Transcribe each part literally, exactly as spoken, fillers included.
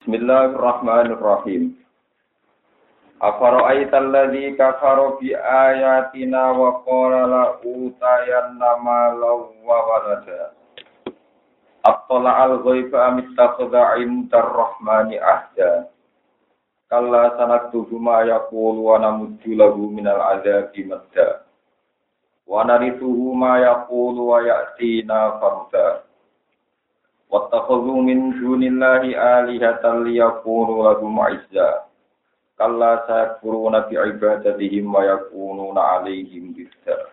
Bismillahirrahmanirrahim. Afara'aital ladzi kafara bi ayatina wa qala la utayanna malan wa walada. Attala al-ghaiba am ittakhadha 'indar rahmani ahda. Kalla sanaktubu ma yaqulu wa namuddu lahu minal 'adzabi madda. Wa narithuhu ma yaqulu wa ya'tina farda. Wattakhadhu min dunillahi alihatan liyakunu lahum 'izza. Kalla sayakfuruna bi ibadatihim wa yakununa 'alaihim dhidda.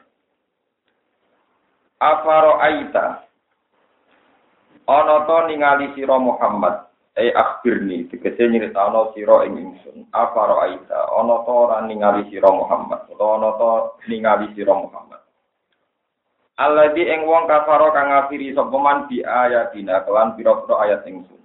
Afara'aita ana ta ningali sira Muhammad, e akhbirni tegese nyritano sira ing ingsun. Afara'aita ana ta ora ningali sira Muhammad, utawa ana ta ningali sira Muhammad. Alladzi ing wong kafara kang ngafiri sapa man bi ayatina kelan pira-pira ayat ingsun.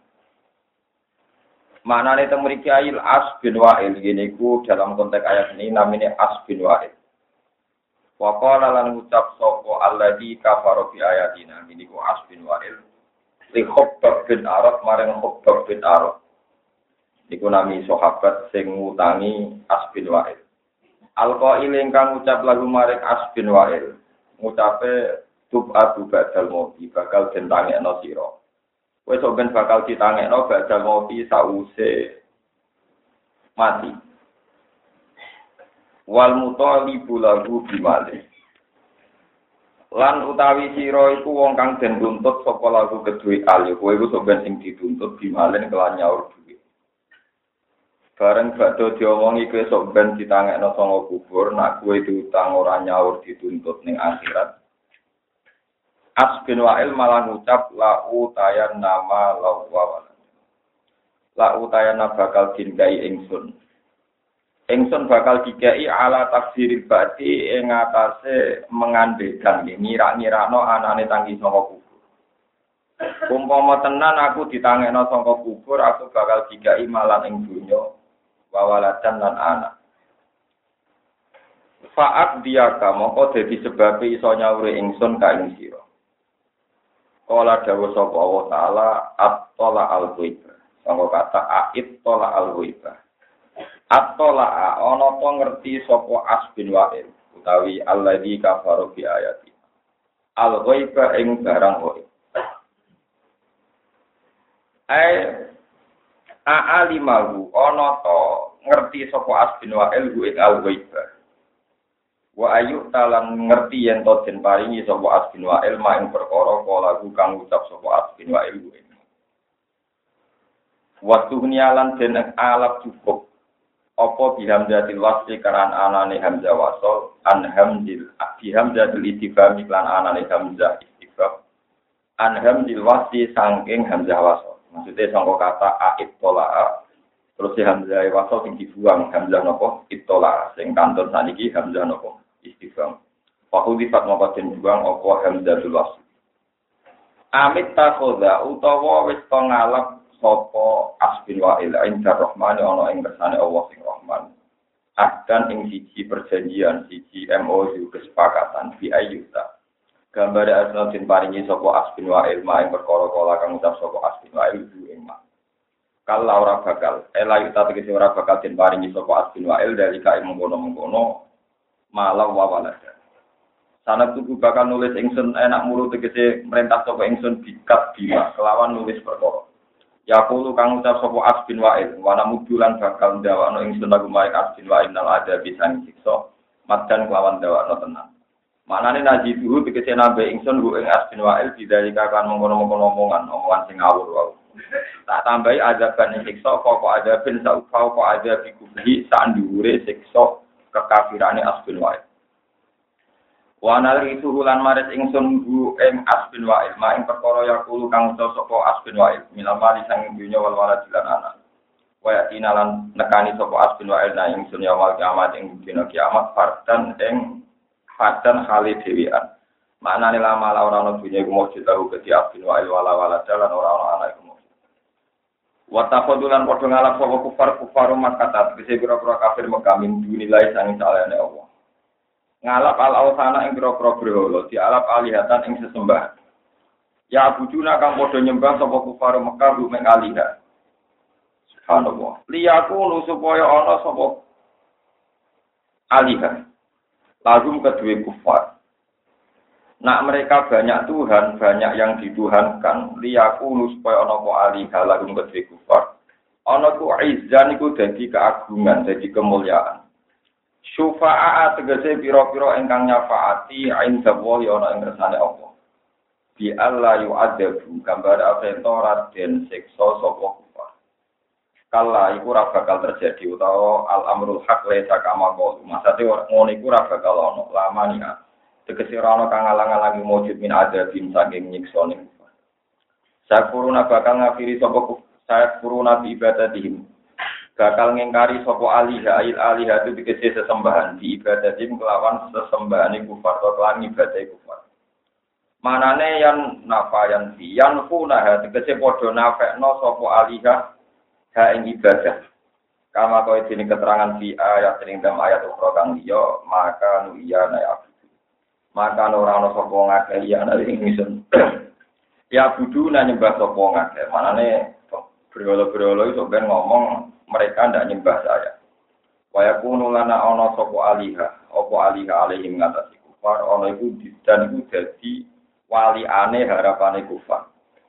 Manane teng mriki ayil as bin wa'il ngene iku dalam konteks ayat ini namine as bin wa'il. Wa qala lan ngucap sapa alladzi kafara bi ayatina ngene iku as bin wa'il li Khabbab bin Arad marang Khabbab bin Arad. Iku nami sahabat sing ngutangi as bin wa'il. Alqail ingkang ngucap lagu marang as bin wa'il. Ngucape tub'atu ba'dal mauti bakal dentangekno sira. Kowe sok ben bakal ditangekno ba'dal mauti sause mati. Wal mutalibu lahu bimale. Lan utawi sira iku wong kang den tuntut saka lagu kedue ali. Kowe iku sok ben sing dituntut bimale kelan nyaur duwe. Bareng badhe diomongi kowe sok ben ditangekno sanga kubur, nak kowe diutang ora nyaur dituntut ning akhirat. As bin Wa'il malah ngucap la utayan nama lawa. La utayan bakal dingai ingsun. Ingsun bakal dikai ala tafsiril bati ing atase mengandekan ngira-ngirakno anane tangi saka kubur. Umpama tenan aku ditangekno saka kubur, aku bakal dikai malan ing donya. Wawalatan lan anak. Fa'at diyaka mongko dadi sebab iso nyauri ingsun ka ing sira. Kala dawuh sapa Allah taala at-tala al-ghaiba. Sanggo kata ait-tala al-ghaiba. At-tala ana to ngerti sapa As bin Wa'il utawi alladzi kafaru bi ayati. Al-ghaiba ing barang ghaib. Ai a'alimahu ana to ngerti sapa As bin Wa'il ku ing al-ghaiba. Wa ayu talan ngerti yen to den paringi sapa As bin Wa'il mak ing perkara kala kang ucap sapa As bin Wa'il ku ing. Waktu nialan den alap cukup apa bihamdatil wasli karan anane hamzah wasol an hamdil bihamdatil ittifam iklan anane hamzah ittifam an hamdil wasli saking hamzah wasol. Maksudnya sangka kata ait tola terus si hamzah wasol sing dibuang hamzah nopo itola sing kanton saniki hamzah nopo istifham. Fahu difat moko den buang apa hamzatul wasl. Amit takhoda utawa wis to ngalap sapa As bin Wa'il indar rahmani ana ing kersane Allah sing Rahman. Akan ing siji perjanjian siji M O U kesepakatan bi ayyuta. Gambar asal den paringi sapa As bin Wa'il mak ing perkara kala kang ucap sapa As bin Wa'il ing mak. Kala ora bakal ela yuta tegese ora bakal den paringi sapa As bin Wa'il dari kae mengkono-mengkono malah wawalada. Sanak tuku bakal nulis ingsun enak mulu tegese merintah sapa ingsun bikat bima kelawan nulis perkara. Yaqulu kang ucap sapa As bin Wa'il wana mudulan bakal ndawakno ingsun lagu maring As bin Wa'il nal ada bisa siksa madan kelawan ndawakno tenan. Manane naji dulu tegese nambe ingsun ku ing As bin Wa'il bidalika kan mengkono-mengkono omongan omongan sing ngawur wae. Tak tambahi azaban ing siksa kok azabin saufa kok azab kubhi sak dhuwure siksa kekafirane As bin Wa'il. Wa nalritu lan maris ingsun bu ing As bin Wa'il mak ing perkara yaqulu kang ucap sapa As bin Wa'il minal mali sang dunya wal walad lan anak. Wa yatina lan nekani sapa As bin Wa'il nang ingsun ya wal kiamat ing dina kiamat fardan ing fadan khali dewian. Maknane lama ora ana dunya iku mujud tahu ke As bin Wa'il wala wala dalan ora ana anak iku. Wa tafadulan padha ngalap sapa kufar-kufar Makkah tegese pira-pira kafir Mekah min dunilai sang salehane Allah. Ngalap al-awsana ing pira-pira berhala, dialap alihatan ing sesembahan. Ya bujuna kang padha nyembah sapa kufar Mekah rumeng alihah. Subhanallah. Liyaku supaya ana sapa alihah. Lagum kedua kufar. Nak mereka banyak Tuhan, banyak yang dituhankan. Liyaku supaya ana apa alihah lagum kedua kufar. Ana ku izzan iku dadi keagungan, dadi kemuliaan. Syufa'a tegese pira-pira ingkang nyafaati inda wa ana ing ngersane Allah. Bi Allah yu'adzabu gambar avento raden siksa sapa kufar. Kala iku ora bakal terjadi utawa al-amrul haq laisa kama qaul. Maksudé ngono iku ora bakal ana lamania. Tegese ora ana kang alang-alangi mujud min adzabin saking nyiksane kufar. Sakuruna bakal ngafiri sapa kufar, sakuruna bi ibadatihim. Bakal ngingkari sapa alihah il alihah itu tegese sesembahan di ibadatihim kelawan sesembahane kufar atau kelawan ibadah kufar. Manane yan nafayan fi yan funa tegese padha nafekno sapa alihah ha ing ibadah. Kama kaya dene keterangan fi ayat ing dalam ayat ukhra kang liya maka nu iya na ya. Maka ora ana sapa ngakeh ya ana ing ingsun. Ya budu nang nyembah sapa ngakeh. Manane berolo-berolo iso ben ngomong mereka ndak nyembah saya. Waya kuno lana ana sapa alihah, apa alihah alaihim ngatasi kufar ana iku dan iku dadi wali ane harapane kufar.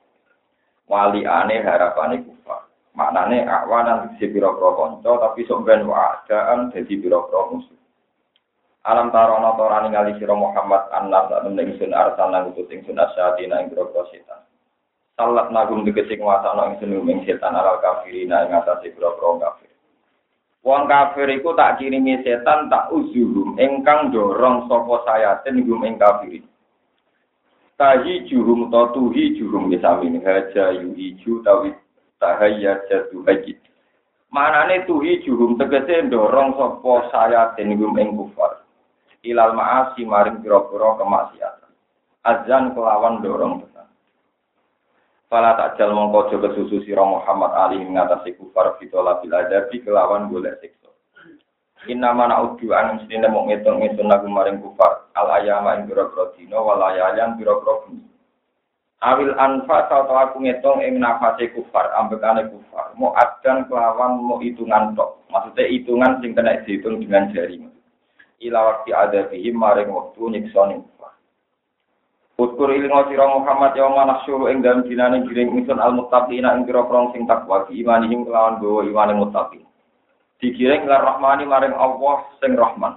Wali ane harapane kufar. Maknane awanan dadi pira-pira kanca tapi sok ben waadaan dadi pira-pira musuh. Alam tarono torani ngali sira Muhammad annas lan ingsun arsalna utus ingsun asyatina ing pira-pira setan. Salat nagum dikesik nguasana ingsun ing setan alal kafirina ing atase pira-pira kafir. Wong kafir iku tak kirimi setan tak uzuhum ingkang dorong sapa sayatin gum ing kafirin. Tahi juhum to tuhi juhum disami haja yuhiju tawit tahayya jatu haji. Manane tuhi juhum tegese ndorong sapa sayatin gum ing kufar. Ilal ma'asi maring pira-pira kemaksiatan. Azan kelawan dorong tenan. Fala takjal mongko aja kesusu sira Muhammad ali ngatasi kufar fitola bil adabi kelawan golek siksa. Inna ma na'udhu an mestine mung ngitung-ngitung lagu maring kufar al ayama ing pira-pira dina walayayan pira-pira bengi. Awil anfa atau aku ngitung ing nafase kufar ambekane kufar mau adan kelawan mau hitungan tok. Maksudnya hitungan sing kena dihitung dengan jari. Ila waqti adabihim maring wektu nyiksane kufar. Utkur ilingo sira Muhammad ya manasuru ing dalem dinane giring ingsun al-muttaqina ing pira-pira sing takwa imanihim kelawan gawa imane muttaqin. Digiring lar rahmani maring Allah sing rahman.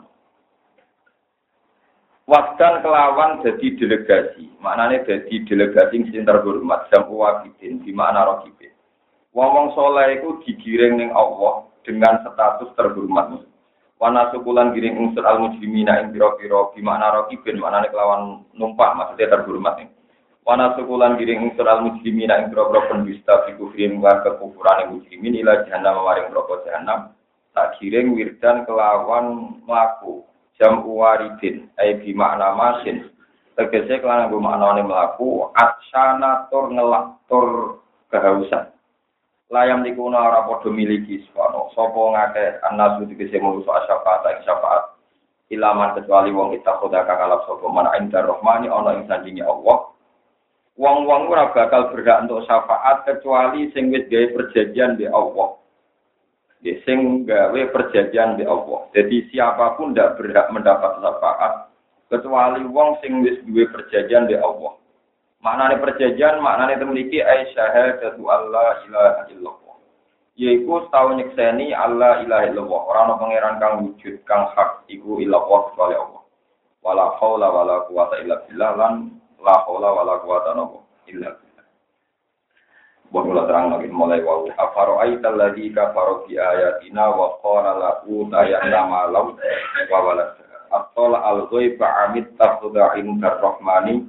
Wasdan kelawan dadi delegasi. Maknane dadi delegasi sing terhormat jamu wabidin di makna raqibin. Wong-wong saleh iku digiring ning Allah dengan status terhormat. Wana sukulan giring unsur al-mujrimina ing pira-pira di makna raqibin maknane kelawan numpak maksudnya terhormat. Wana sukulan giring unsur al-mujrimina ing pira-pira pendusta fi kufrin wa kekufuran mujrimin ila jahannam maring neraka jahannam. Tak giring wirdan kelawan mlaku jam waridin ai bi makna masin tegese kelawan nggo maknane mlaku atsana tur ngelak tur kehausan layam nikuna ora padha miliki sapa sapa ngake anasu tegese manusa syafaat ing syafaat ilaman kecuali wong kita khoda kang alap sapa man indar rahmani ana ing sandinge Allah wong-wong ora bakal berhak untuk syafaat kecuali sing wis gawe perjanjian be Allah. Sing gawe perjanjian di Allah. Jadi siapapun tidak berhak mendapat syafaat kecuali wong sing wis duwe perjanjian di Allah. Maknane perjanjian, maknane memiliki ai syahadatu alla ilaha illallah. Yaiku tau nyekseni alla ilaha illallah. Ora ana pangeran kang wujud kang hak iku illallah kecuali Allah. Wala haula wala quwata illa billah lan la haula wala quwata illa billah. Bahwa terang lagi mulai wau afaro aital ladzi kafaro bi ayatina wa qala lahu tayanna malau wa walad atola al-ghaiba amit tafudha indar rahmani.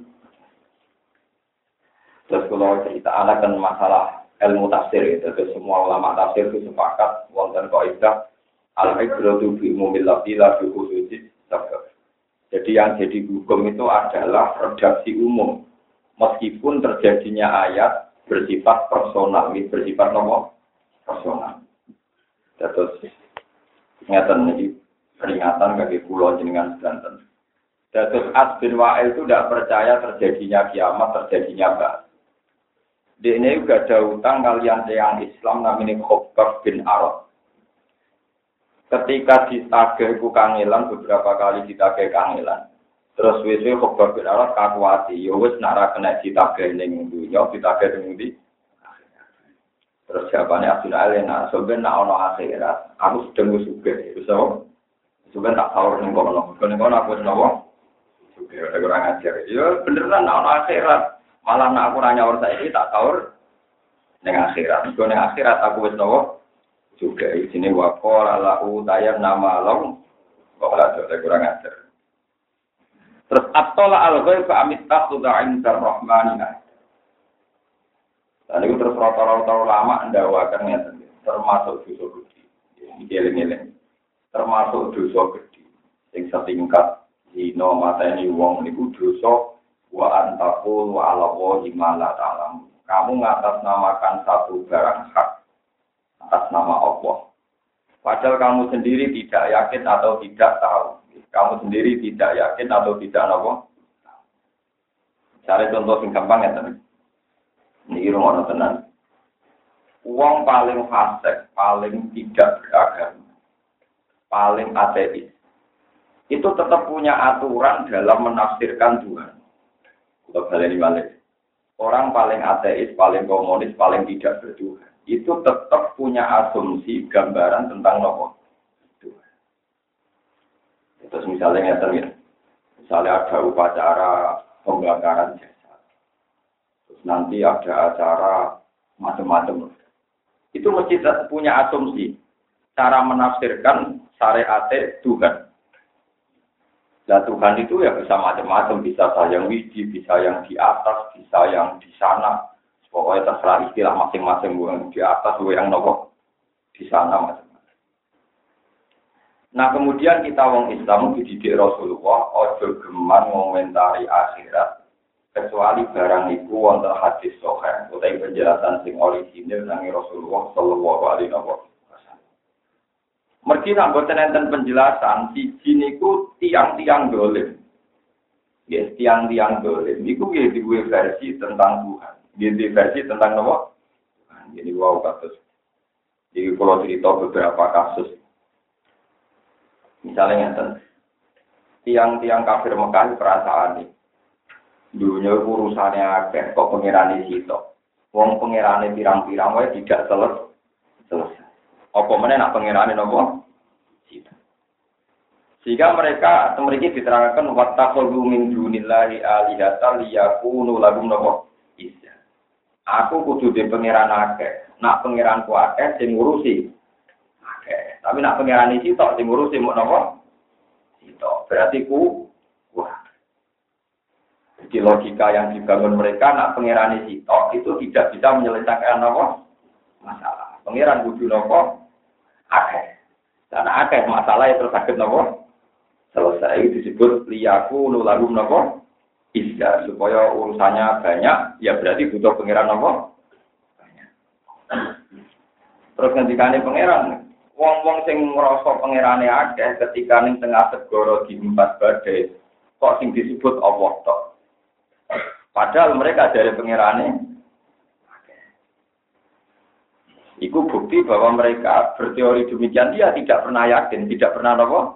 Terus kalau cerita akan masalah ilmu tafsir itu semua ulama tafsir itu sepakat wonten kaidah al-ibratu bi umumil lafzi la bi khususis sabab. Jadi yang jadi hukum itu adalah redaksi umum meskipun terjadinya ayat bersifat personal, ini bersifat nomor personal. Terus ingatan ini peringatan bagi pulau jenengan Banten. Terus As bin Wa'il itu tidak percaya terjadinya kiamat, terjadinya ba'ats. Dene juga ada utang kalian yang Islam namanya Khobbab bin Arad. Ketika ditagih ku kangelan beberapa kali ditagih kangelan. Terus wis-wis Khobbab bin Arad kakuati, ya wis nak ra kena ditagih ning dunya, ditagih ning ndi. Terus jawabannya Abdul Alena, sebenarnya nak ono akhirat, aku sedang sugih, so sebenarnya tak tahu ning kono, ning kono aku senowo, sugih ada kurang ajar. Ya beneran nak ono akhirat. Malah nak aku nanya orang saya ini tak tahu dengan akhirat. Kalau dengan akhirat aku wis nopo juga di sini wakol alahu tayar nama long. Kok ada kurang ajar. Terus atola al-ghaib fa amitta tudain darrahmanina. Dan itu terus rata-rata lama ndawakan ya termasuk dosa gede. Iki eling-eling. Termasuk dosa gede. Sing setingkat dina mateni wong niku dosa wa antaqul wa ala wahi ma la ta'lam. Kamu ngatasnamakan satu barang hak atas nama Allah. Padahal kamu sendiri tidak yakin atau tidak tahu. Kamu sendiri tidak yakin atau tidak tahu. Cari contoh sing gampang ya teman. Niki rumono tenan. Wong paling fasik, paling tidak beragama, paling ateis. Itu tetap punya aturan dalam menafsirkan Tuhan. Untuk balik balik. Orang paling ateis, paling komunis, paling tidak bertuhan. Itu tetap punya asumsi gambaran tentang nopo Tuhan. Terus misalnya ya terus, misalnya ada upacara pembakaran jasad. Terus nanti ada acara macam-macam. Itu mesti punya asumsi cara menafsirkan syariat Tuhan. Nah Tuhan itu ya bisa macam-macam, bisa yang widi, bisa yang di atas, bisa yang di sana. Pokoknya terserah istilah masing-masing, yang di atas, yang nopo di sana macam-macam. Nah kemudian kita wong Islam dididik Rasulullah, ojo geman ngomentari akhirat, kecuali barang itu wonten hadis sahih, utawi penjelasan sing orisinil nang Rasulullah sallallahu alaihi wasallam. Mergi nak boten enten penjelasan siji niku tiang-tiang dolim. Yes, tiang-tiang dolim niku nggih duwe versi tentang Tuhan. Nggih versi tentang napa? Jadi wow kasus. Jadi kalau cerita beberapa kasus. Misalnya ngeten. Tiang-tiang kafir Mekah perasaan iki. Dunia urusannya akeh kok pengirane sitok. Wong pengirane pirang-pirang wae tidak selesai. Apa meneh nak pengirane napa? Sita. Sehingga mereka memiliki diterangkan wattaqulu min dunillahi alihatan liyakunu lahum napa? Izza. Aku kudu di pengiran akeh. Nak pengiranku akeh sing ngurusi akeh. Tapi nak pengirane sitok sing ngurusi mok napa? Sitok. Berarti ku wah. Jadi logika yang dibangun mereka nak pengirane sitok itu tidak bisa menyelesaikan napa? Masalah. Pengiran kudu napa? Akeh. Dan akeh masalah itu sakit nopo selesai disebut liyaku nulagum nopo isya supaya urusannya banyak ya berarti butuh pangeran nopo banyak. Terus ngendikane pangeran wong-wong sing ngrasa pangerane akeh ketika ning tengah segara diempat badai kok sing disebut Allah tok. Padahal mereka dari pangerane Iku bukti bahwa mereka berteori demikian dia tidak pernah yakin, tidak pernah apa.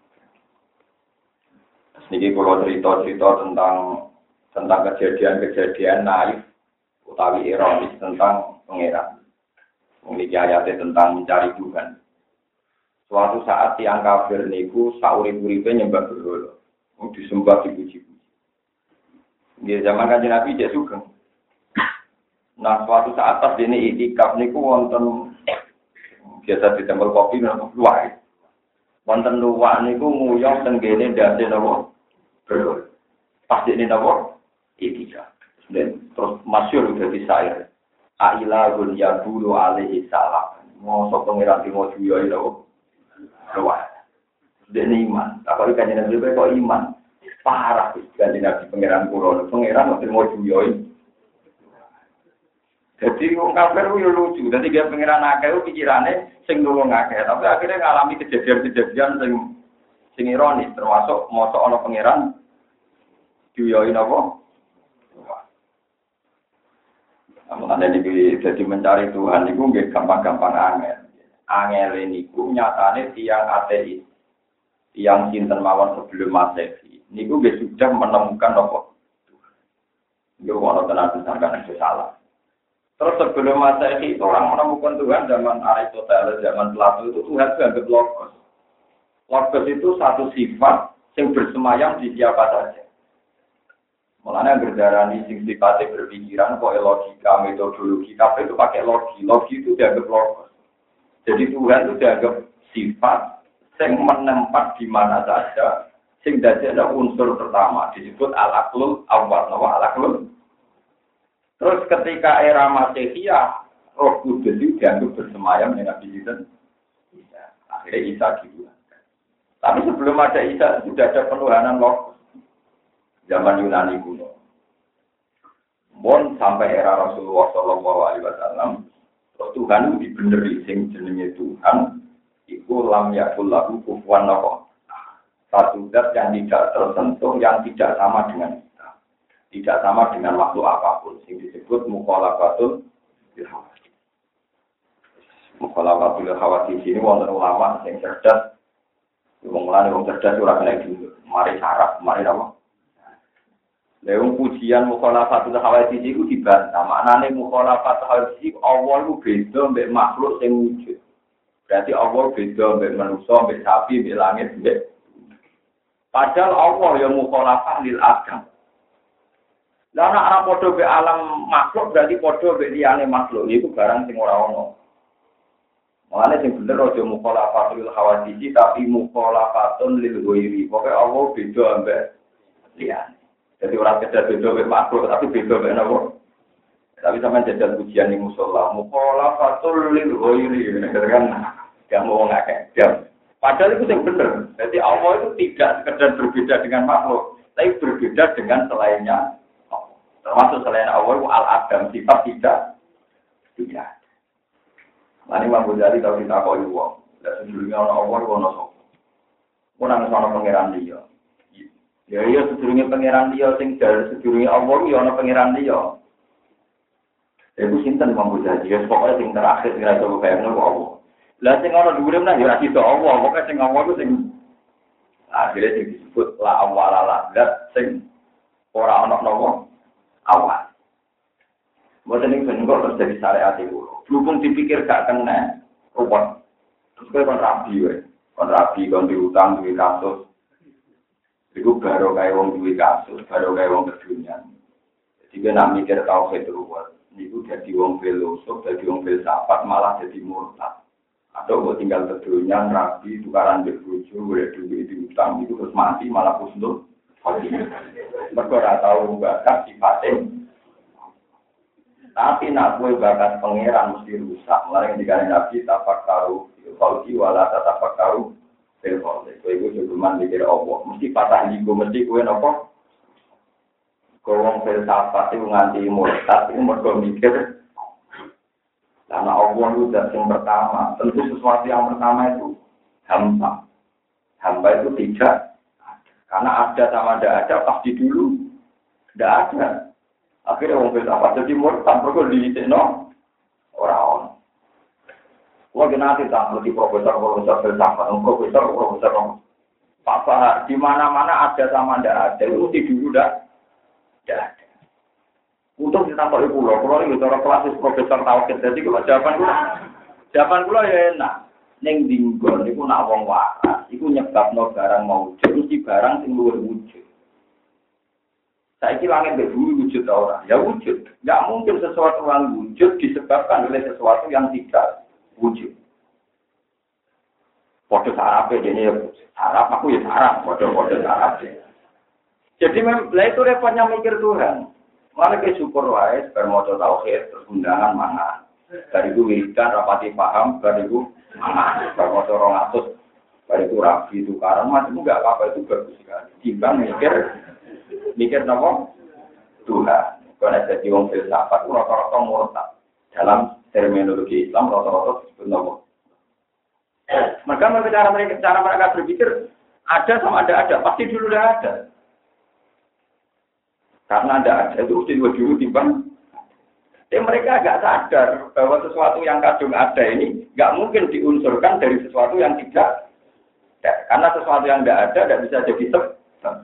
Niki kalau cerita-cerita tentang tentang kejadian-kejadian naif utawi ironis tentang pangeran. Niki ayatnya tentang mencari Tuhan. Suatu saat tiang kafir niku saurip-uripe nyembah berhala, disembah dipuji-puji. Di zaman Kanjeng Nabi dia sugeng. Nah, suatu saat pas ini itikaf niku wonten biasa di tempel kopi nang luwak. Wonten luwak niku nguyong tenggene ndase napa? Berul. Pas ini napa? Itikaf. Dan terus masyhur dadi syair. Ailahul yaqulu alaihi salam. Mosok pangeran timo juyo lho. Luwak. Dene iman. Apa iki Nabi kok iman? Parah wis Kanjeng Nabi pangeran kula. Pangeran timo juyo. Jadi wong kafir yo lucu, dadi dia pengiran akeh pikirane sing nulung akeh, tapi akhirnya ngalami kejadian-kejadian sing sing ironis termasuk mosok ana pangeran diyoi napa? Namun ada di jadi mencari Tuhan itu nggak gampang-gampang angel. Angel ini ku nyatane tiang ateis, tiang sinten mawon sebelum Masehi. Niku nggak sudah menemukan apa? Nggak mau tenan disangka itu salah. Terus sebelum Masehi itu orang menemukan Tuhan zaman Aristoteles, zaman Plato itu Tuhan itu anggap logos. Logos itu satu sifat yang bersemayam di siapa saja. Mulanya berdarani sing sifatnya berpikiran, pokoknya logika, metodologi, tapi itu pakai logi. Logi itu dianggap logos. Jadi Tuhan itu dianggap sifat yang menempat di mana saja, sing dadi ada unsur pertama disebut al-aqlul awal, nama al-aqlul. Terus ketika era Masehiyah, Roh Kudus itu dianggap bersemayam dengan Nabi Isa. Akhirnya Isa gitu. Tapi sebelum ada Isa sudah ada penuhanan logos. Zaman Yunani kuno. Bon sampai era Rasulullah Shallallahu Alaihi Wasallam, Tuhan itu dibeneri sing jenenge Tuhan, iku lam yakul lahu kufuwan ahad. Satu zat yang tidak tersentuh, yang tidak sama dengan kita, tidak sama dengan makhluk apapun, sing disebut mukhalafatul hawadits. Mukhalafatul hawadits ini wonten ulama sing cerdas, wong lanang wong cerdas ora kena dulu. Mari sarap, mari apa? Leung pujian mukhalafatul hawadits iku dibantah. Maknane mukhalafatul hawadits iku Allah iku beda mbek makhluk sing wujud. Berarti Allah beda mbek manusa, mbek sapi, mbek langit, mbek. Padahal Allah yang mukhalafah lil adam. Lah nek ora padha mbek alam makhluk berarti padha mbek liyane makhluk. Iku barang sing ora ono. Mulane sing bener aja mukhalafatul hawadits tapi mukhalafatun lil ghairi. Pokoke Allah beda mbek liyane. Jadi orang kedar beda mbek makhluk tapi beda mbek napa? Tapi sampean jajal pujian ning musala, mukhalafatul lil ghairi. Kan gak mau ngakeh. Padahal itu yang benar. Jadi Allah itu tidak sekedar berbeda dengan makhluk, tapi berbeda dengan selainnya. Termasuk selain Allah itu al-adam, sifat tidak tidak. Nah ini Imam Ghazali kalau kita kau itu, tidak sejujurnya orang Allah itu orang sok. Pun ada seorang pangeran dia. Ya iya sejujurnya pangeran dia, sing dari sejujurnya Allah itu orang pangeran dia. Itu sinten Imam Ghazali. Ya pokoknya sing terakhir sing rasa bayangnya Allah. Lah sing ana dhuwure menah ya ora iso Allah, pokoke sing Allah ku sing akhire sing disebut la awalala, zat sing ora ana napa awal. Mboten ning ben kok terus dadi syariat iku. Berhubung dipikir gak kena ruwet. Terus kowe kon rabi wae. Kon rabi kon diutang duwe kasus. Iku baru kaya wong duwe kasus, baru kaya wong kedunya. Jadi ben nak mikir tauhid ruwet. Niku dadi wong filosof, dadi wong filsafat malah dadi murtad. Atau buat tinggal kedunya, rabi, tukaran berbuju, boleh duit di utang, itu terus mati, malah kusnul. Mereka tidak tahu bakat sifatnya. Tapi nak gue bakat pangeran mesti rusak. Mulai dikali nabi, tapak taruh, falki, wala tapak taruh, telpon. Itu cuma mikir Allah. Mesti patah ligo, mesti gue nopo. Kau filsafat itu nganti murtad, itu mereka mikir. Karena Allah itu zat yang pertama, tentu sesuatu yang pertama itu hamba. Hamba itu tidak, karena ada sama tidak ada, pasti dulu tidak ada. Akhirnya orang filsafat jadi murtad, mereka diitikno orang-orang. Wah nanti tak seperti profesor-profesor filsafat, profesor-profesor Pak Bahar, di mana-mana ada sama tidak ada, itu di dulu tidak ada. Untuk ditambah ibu loh, kalau ini cara klasis profesor tauhid, jadi kalau jawaban gue, jawaban gue ya enak. Neng dinggon, itu nak wong waras, itu nyebabno barang mau wujud, mesti barang sing luwih wujud. Saiki langit mbek bumi wujud ora? Ya wujud. Enggak mungkin sesuatu yang wujud disebabkan oleh sesuatu yang tidak wujud. Padha sarape dene ya sarap, aku ya sarap, padha-padha sarap. Jadi memang itu repotnya mikir Tuhan. Malah ke syukur wae, bermoco tauhid, terus undangan mangan. Dari itu wiridan, rapati paham, dari itu mangan. Bermoco rongatus, dari itu rabi, tukaran, macam enggak apa-apa itu bagus sekali. Timbang mikir, mikir apa? Tuhan. Karena jadi wong filsafat, rata-rata murtad. Dalam terminologi Islam, rata-rata disebut apa? Mereka mereka cara mereka, cara mereka berpikir, ada sama ada ada, pasti dulu udah ada. Karena ada ada itu mesti dua dulu timbang. Ya mereka agak sadar bahwa sesuatu yang kadung ada ini nggak mungkin diunsurkan dari sesuatu yang tidak ada. Karena sesuatu yang tidak ada tidak bisa jadi sebab.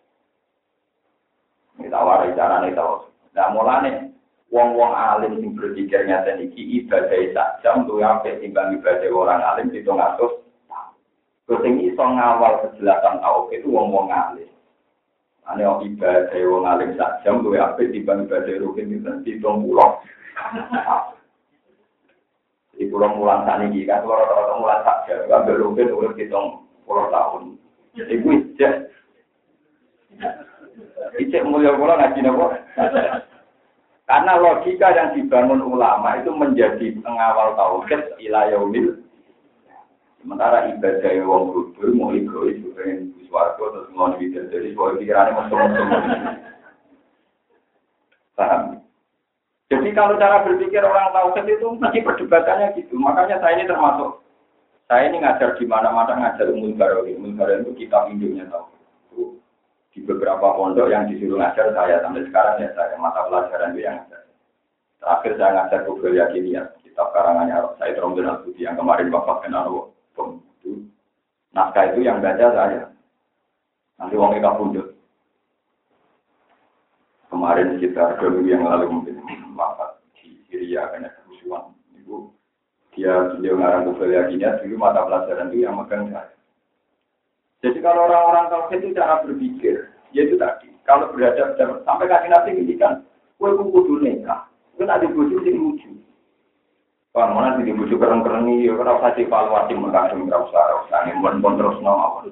Kita warai cara nih tahu. Nah mulane wong-wong alim sing berpikir ngaten iki ibadah sak jam luwih apik timbang ibadah orang alim pitung atus. Terus sing iso ngawal kejelasan tauhid itu wong-wong alim. Ane ibadah wong alim sak jam luwih apik timbang ibadah rukin pitung puluh. Di pulau mulan saniki kan kalau rata-rata mulan sak jam ambil rukin urip pitung puluh tahun. Iku ijek. Ijek mulia kula ngaji napa? Karena logika yang dibangun ulama itu menjadi pengawal tauhid ila yaumil. Sementara ibadah wong bodho mau egois pengen swarga terus ngono iki jadi soal pikirane mesum-mesum. Paham? Jadi kalau cara berpikir orang tauhid itu mesti perdebatannya gitu. Makanya saya ini termasuk saya ini ngajar di mana-mana ngajar umum barowi. Umum barowi itu kitab induknya tauhid. Di beberapa pondok yang disuruh ngajar saya sampai sekarang ya saya mata pelajaran itu yang ngajar. Terakhir saya ngajar Google Yakiniyah, kitab karangannya Said Romdon Al-Budi yang kemarin wafat kena itu. Naskah itu yang baca saya. Nanti wong eka pundut. Kemarin sekitar dua minggu yang lalu mungkin wafat di Syria karena kerusuhan. Ibu dia beliau ngarang Google Yakiniyah dulu mata pelajaran itu yang megang saya. Jadi kalau orang-orang tauhid itu cara berpikir, yaitu tadi, kalau berada sampai kaki nanti ngintikan, kue kudu nikah, kue nak dibujuk sing lucu. Wah, mana sih dibujuk keren-keren nih, ya kalau saya evaluasi mengkasih nggak usah, usah ngimpun terus nama.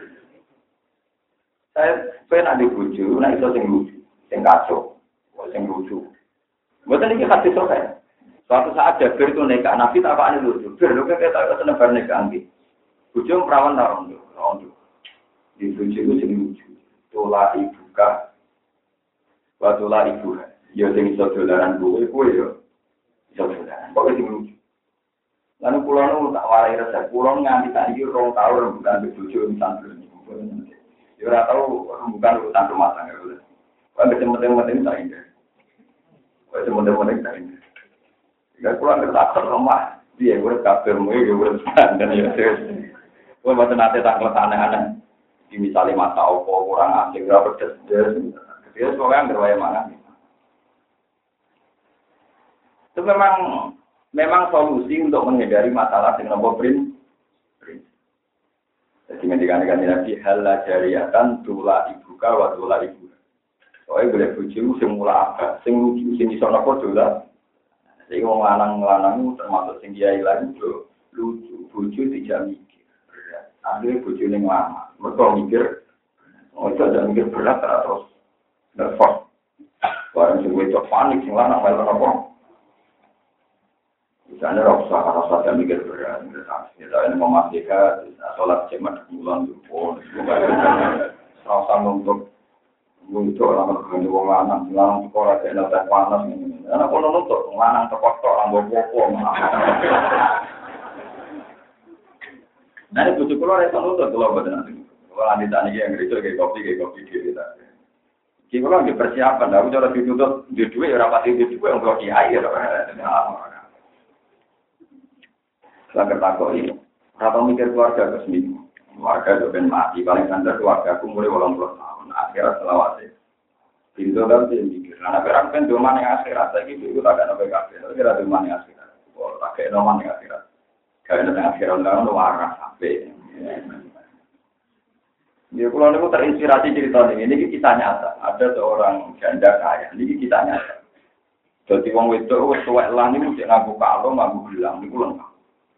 Saya kue nak dibujuk, nak itu sing lucu, sing kacau, sing lucu. Bukan ini kasih sokai. Suatu saat Jabir itu nikah, Nabi tak apa ini lucu. Jabir, lu kan kita tak senebar nikah nanti. Bujuk perawan tarung tuh, tarung tuh. Di lucu itu sing lucu. Tola ibuka, watola ibu. Ya sing iso dolaran gue, gue ya iso dolaran. Pokoknya sing lucu. Lalu pulau nu tak warai resep. Pulau nganti tak iki rong tahun bukan bebujo misal dulu. Ya ora tahu bukan urusan rumah tangga dulu. Kan penting-penting tak ini. Kok penting-penting tak ini. Jika pulau ngerti tak rumah, dia gue kabel mu ya gue dan ya. Gue mboten nate tak aneh-aneh. Di misalnya mata opo kurang asing berapa pedes dia soalnya berwaya mana itu memang memang solusi untuk menghindari masalah dengan nomor print jadi ngendikan Nabi halal jariatan tula ibuka wa tula ibu soalnya boleh bujuk sing mula apa sing lucu sing iso napa dola sing wong lanang-lanang termasuk sing kiai lan lucu bujuk dijami akhirnya bujuk yang lama, mereka mikir, oh itu ada mikir berat terus nervous. Barang sing wedok panik sing lanang melu apa? Misalnya rasa rasa ada mikir berat, kita ini memastikan sholat jemaat bulan itu, rasa untuk untuk orang berkendi wong lanang, lanang sekolah tidak ada panas ini. Anak pun untuk lanang terkotor, orang bobo. Nah, ini bujuk keluar itu nutut kalau buat nanti. Kalau nanti tanya yang gereja kayak kopi kayak kopi dia kita. Kita kalau di persiapan, aku cara ditutup di dua, orang pasti di dua yang bloki air. Saya bertakwa ini, rata mikir keluarga ke seminggu. Keluarga juga mati, paling standar keluarga aku mulai walang puluh tahun. Akhirnya selawase. Pintu dan dia mikir. Karena berang kan cuma yang akhirat lagi itu tak ada nabi kafir. Tapi ada cuma yang akhirat. Kalau tak ada nama yang akhirat. Kalau ada akhirat orang luar sampai. Ya kalau aku terinspirasi cerita ini, ini kisah nyata. Ada seorang janda kaya, ini kisah nyata. Jadi wong wedok wis tuwek lan niku mesti nganggo kalung, nganggo gelang niku lengkap.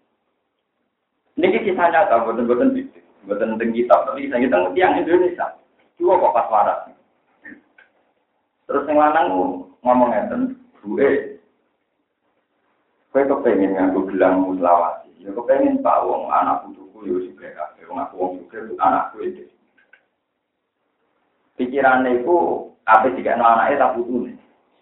Niki kisah nyata, boten-boten bisik. Boten teng kitab, tapi kisah kita tiyang Indonesia. Dua kok pas waras. Terus yang lanang ngomong ngeten, "Buke, kowe kepengin nganggo gelang selawase. Ya kepengin Pak wong anak putuku ya wis kabeh, wong aku wong sugih anakku iki." Pikirane iku ape dikene anake tak putune.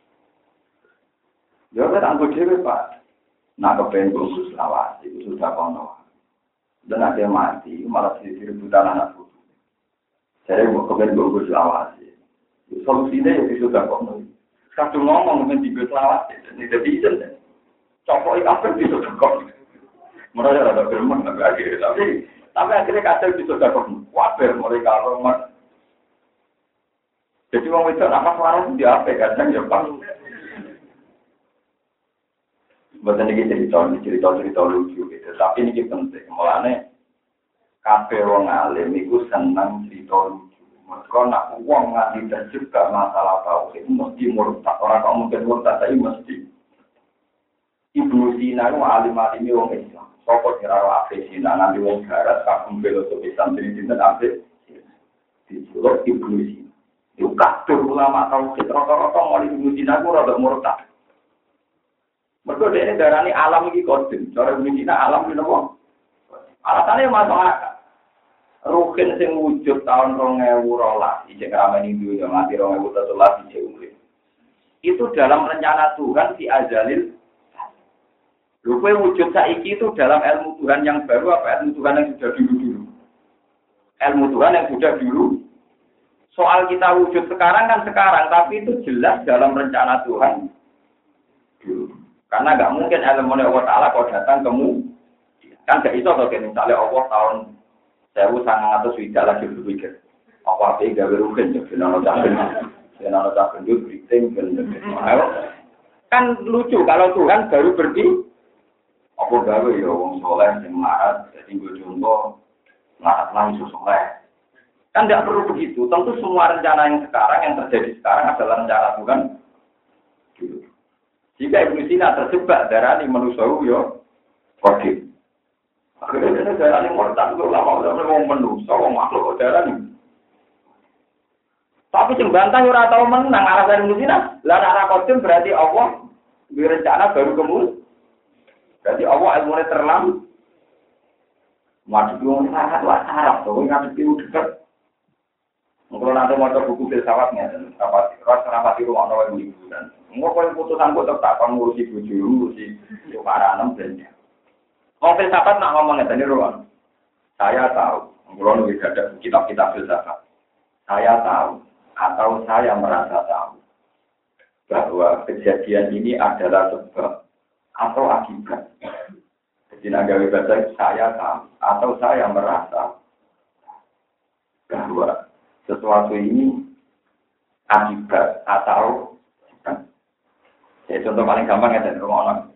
Ya ora tak dhewe Pak. Nak kepengin khusus selawase itu sudah kono. Dan ada mati, malah direbutan anak putu. Saya mau kepengin khusus selawase. Solusinya ya sudah kono. Kadung ngomong men digo selawat. Jadi isin. Copok kabeh bisa kok. Mereka ada firman tapi akhirnya tapi tapi akhirnya kadang bisa dapat wabar mereka rumah. Jadi orang itu apa suara itu dia apa kadang ya pas. Bukan ini cerita cerita cerita lucu gitu. Tapi ini penting. Mulanya kafe orang alim itu senang cerita lucu. Mereka nak uang ngasih dan juga masalah tahu itu mesti murtad. Orang kau mungkin murtad tapi mesti. Ibnu Sina itu alim-alim orang Islam. Sokot nyerah Afe Sina nanti orang garas kagum filosofi santri dinten Afe. Di Solo Ibnu Sina. Itu kabeh ulama tauhid rata-rata mau Ibnu Sina itu rada murtad. Mergo dene darani alam iki kodim. Cara Ibnu Sina alam iki napa? Alasane masalah ruhin sing wujud tahun dua ribu dua belas iki ramene dunya nganti dua ribu tiga belas iki urip. Itu dalam rencana Tuhan si azalil. Lupa wujud saiki itu dalam ilmu Tuhan yang baru apa ilmu Tuhan yang sudah dulu-dulu? Ilmu Tuhan yang sudah dulu. Soal kita wujud sekarang kan sekarang, tapi itu jelas dalam rencana Tuhan dulu. Karena nggak mungkin ilmu Allah Ta'ala kalau datang kemu. Kan nggak iso kalau misalnya Allah tahun seribu sembilan ratus tidak lagi berpikir. Apa apa yang gawe rugen, jadi nono cakun, jadi nono cakun itu briefing, kan lucu kalau Tuhan baru berdiri. Apa gawe ya wong soleh sing marat dadi nggo contoh marat langsung soleh. Kan tidak perlu begitu. Tentu semua rencana yang sekarang yang terjadi sekarang adalah rencana Tuhan. Jika Ibnu Sina terjebak darani manusia yo kodim. Akhirnya darani murtad itu lama udah mau manusia wong makhluk darani. Tapi sing bantah ora tau menang alasan Ibnu Sina. Lah arah kodim berarti Allah direncana baru kemudian. Jadi Allah ilmunya terlalu wajib yang sangat wajar, so nggak begitu dekat. Kalau nanti mau buku filsafatnya, rapat ras rapat itu mau nawain liburan. Mau kalau putusan kok tetap ngurusi buju, ngurusi para enam dan mau filsafat nak ngomongnya tadi ruang. Saya tahu, kalau lebih ada kitab-kitab filsafat. Saya tahu atau saya merasa tahu bahwa kejadian ini adalah sebab atau akibat. Jadi nagawi bahasa saya tahu atau saya merasa bahwa sesuatu ini akibat atau ya contoh paling gampang ya dari rumah orang.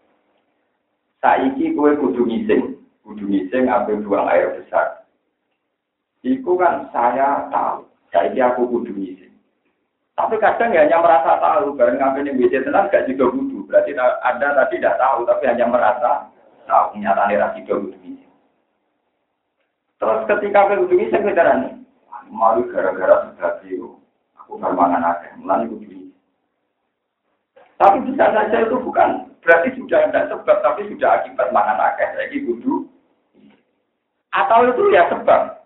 Saiki kue kudu ngising, kudu ngising ambil buang air besar. Iku kan saya tahu, saiki aku kudu ngising. Tapi kadang ya hanya merasa tahu, bareng ngambil W C tenang gak juga kudu. Berarti Anda tadi tidak tahu, tapi hanya merasa tahu. Nyatanya rasi juga kudu ngising. Terus ketika aku kudu ngising, kita rani. Malu gara-gara sudah biru. Aku bermangan aja, mulai kudu ngising. Tapi bisa saja itu bukan, berarti sudah ada sebab, tapi sudah akibat mangan akeh. Lagi kudu. Atau itu ya sebab.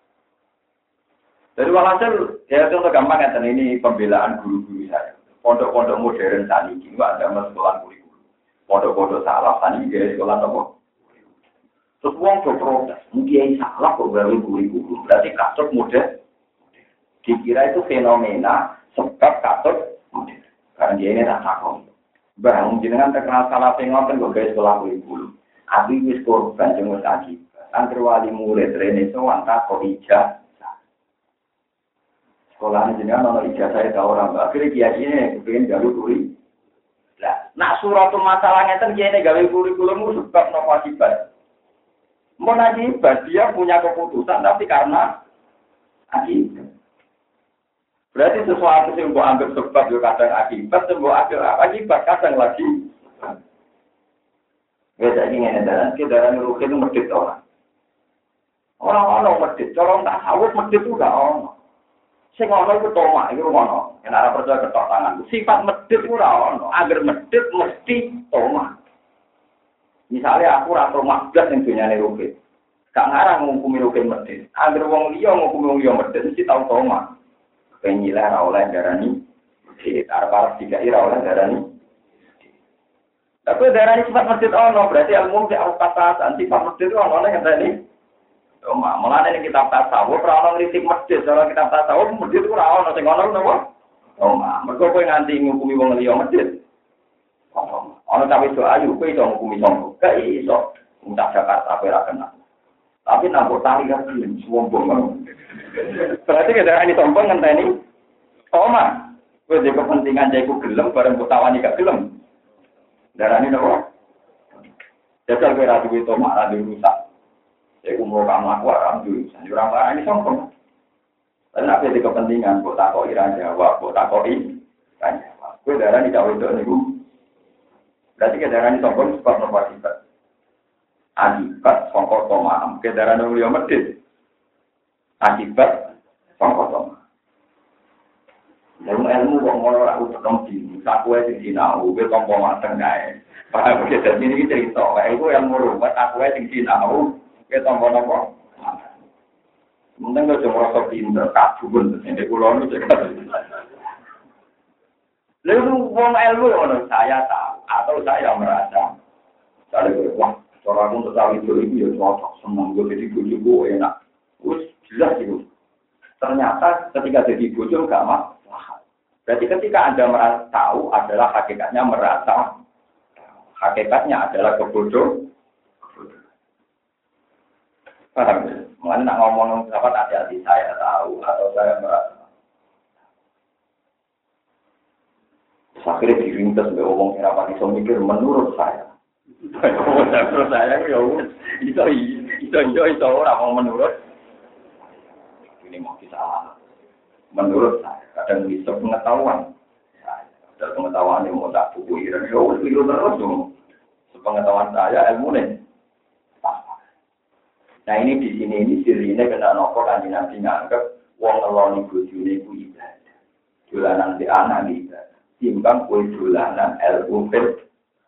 Dari walhasil, ya contoh gampang ya, ini pembelaan guru-guru saya. Pondok-pondok modern saat ini, nggak ada sekolah kurikulum. Pondok-pondok salah saat ini, gaya sekolah apa? Terus uang berprotes, mungkin salah kok baru kurikulum. Berarti katut modern. Dikira itu fenomena sebab katut modern. Karena dia ini rasa kok. Bang, jenengan terkenal salah pengotan kok gaya sekolah kurikulum. Abi wis korban jenguk akibat. Antara wali murid rene sowan tak kok ijazah. Sekolah ini jenengan ono ijazah itu orang. Akhirnya kiai-kiai kepengen gawe kuri. Lah, nak suratul masalahnya kan kiai gawe kurikulum sebab nopo akibat. Mau akibat dia punya keputusan tapi karena akibat. Berarti sesuatu yang mbok anggap sebab yo kadang akibat, mbok anggap akibat kadang lagi. Beda iki ngene dalan, ki dalan ruhin itu medhit ora. Orang-orang medhit, cara tak sawut medhit ku gak ono. Sing ana iku tomak iku ono. Yen ora percaya ketok tangan. Sifat medhit ora ono. Agar medhit mesti tomak. Misalnya aku ora tomak blas ning dunyane ruhin. Gak ngarang ngukumi ruhin medhit. Agar wong liya ngukumi wong liya medhit mesti tau tomak. Pengilah ra oleh darani medhit. Arep-arep dikai ra oleh darani. Tapi darani sifat medhit ono, berarti ilmu sing harus katasan sifat medhit ono nek ngene. Cuma, malah ini kitab tasawuf, orang ngritik masjid, kalau kitab tasawuf, masjid itu orang, sing ono napa? Toma, mergo kowe nganti ngukumi wong liya medhit. Ana cawe do ayu kowe iso ngukumi sombong. Gak iso. Entah Jakarta kowe ra kenal. Tapi nampak tali kan gelem sombong. Berarti kada ini sombong ngenteni. Toma. Kowe dhe kepentingan jaiku gelem bareng kutawani gak gelem. Darane nopo? Jajal kowe ra duwe toma ra duwe rusak. Jaiku mau kamu aku ora duwe. Ora ora ini sombong. Lan apa dhe kepentingan kok takoki ra jawab, kok takoki kan jawab. Kowe darane gak wedok niku. Berarti kendaraan sombong sebab nopo akibat. Akibat songkok toma. Kendaraan yang liya medhit. Akibat songkok toma. Ilmu ilmu kok ngono ora utek di. Saku wae sing sinau, kowe tompo mateng kae. Paham iki dadi iki cerita. Kae iku ilmu ruwet aku wae sing sinau, kowe tompo nopo? Mending kok merasa pinter kabun nek kula niku cek. Lalu wong ilmu ngono saya tahu atau saya merasa saya wah cara aku untuk tahu itu itu ya cocok senang gue jadi bojoku enak. Wis jelas itu. Ternyata ketika jadi bojo enggak masalah. Berarti ketika Anda merasa tahu adalah hakikatnya merasa hakikatnya adalah kebodohan. Paham ya? Mengenai nak ngomong sahabat hati-hati saya tahu atau saya merasa. Akhirnya dirintas sampai ngomong kenapa bisa mikir menurut saya. Menurut saya ya itu itu itu itu orang mau menurut. Ini mau kisah. Menurut saya kadang bisa pengetahuan. Ada pengetahuan yang mau tak buku dan ya itu terus dong. Sepengetahuan saya ilmu nih. Nah ini di sini ini sirine kena nopo kan nanti nganggep wong ngeloni bojone ku ibadah. Dolanan di anak ibadah. Timbang kue dolanan ilmu fit.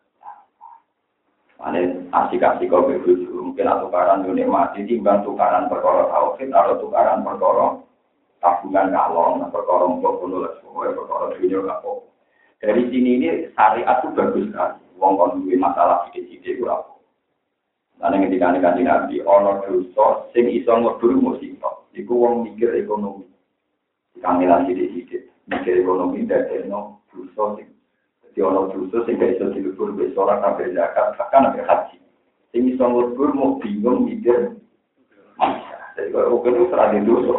Ane asik-asik kau begitu mungkin tukaran dunia mati timbang tukaran perkara tauhid atau tukaran perkara tabungan kalong, perkara untuk penulis, pokoknya perkara dunia apa. Dari sini ini syariat itu bagus sekali. Wong kon duwe masalah sidik-sidik ora apa. Lan ketika kanjeng Nabi ana dosa sing iso ngedur musibah. Iku wong mikir ekonomi. Kamilah sidik-sidik mikir ekonomi dadekno dosa sing dadi ana dosa sing gak iso dilebur wis ora kabeh zakat bahkan nek haji sing iso ngelebur mau bingung mikir jadi kalau kene ora di dosa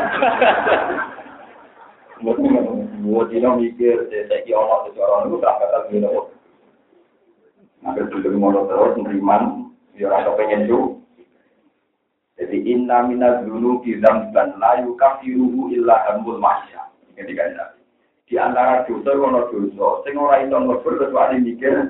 mungkin mau dino mikir saiki ana secara niku tak bakal dino nek kudu mono terus nriman ya ora pengen ju jadi inna minaz dzunubi dzamban la yukafiruhu illa hamul mahya ketika ada di antara dosa ono dosa sing ora iso nglebur kecuali mikir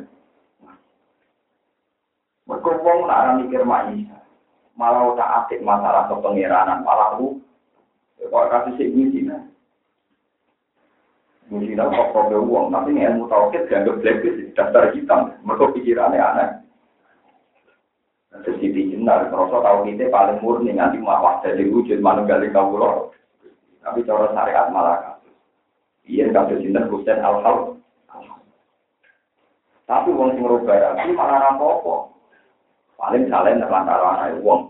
mergo wong ora mikir maisa malah tak atik masalah kepengeranan malah lu kok kasih sik ngene mungkin kok kok wong tapi ilmu tauhid dianggap blacklist daftar hitam mergo pikirane aneh terus di jenar kroso tau kita paling murni nanti mawah jadi wujud manunggal kawula tapi cara syariat malah iya kasus sinten Husain Al-Hal. Tapi wong sing rubah iki malah ra apa-apa. Paling salen antara anak wong.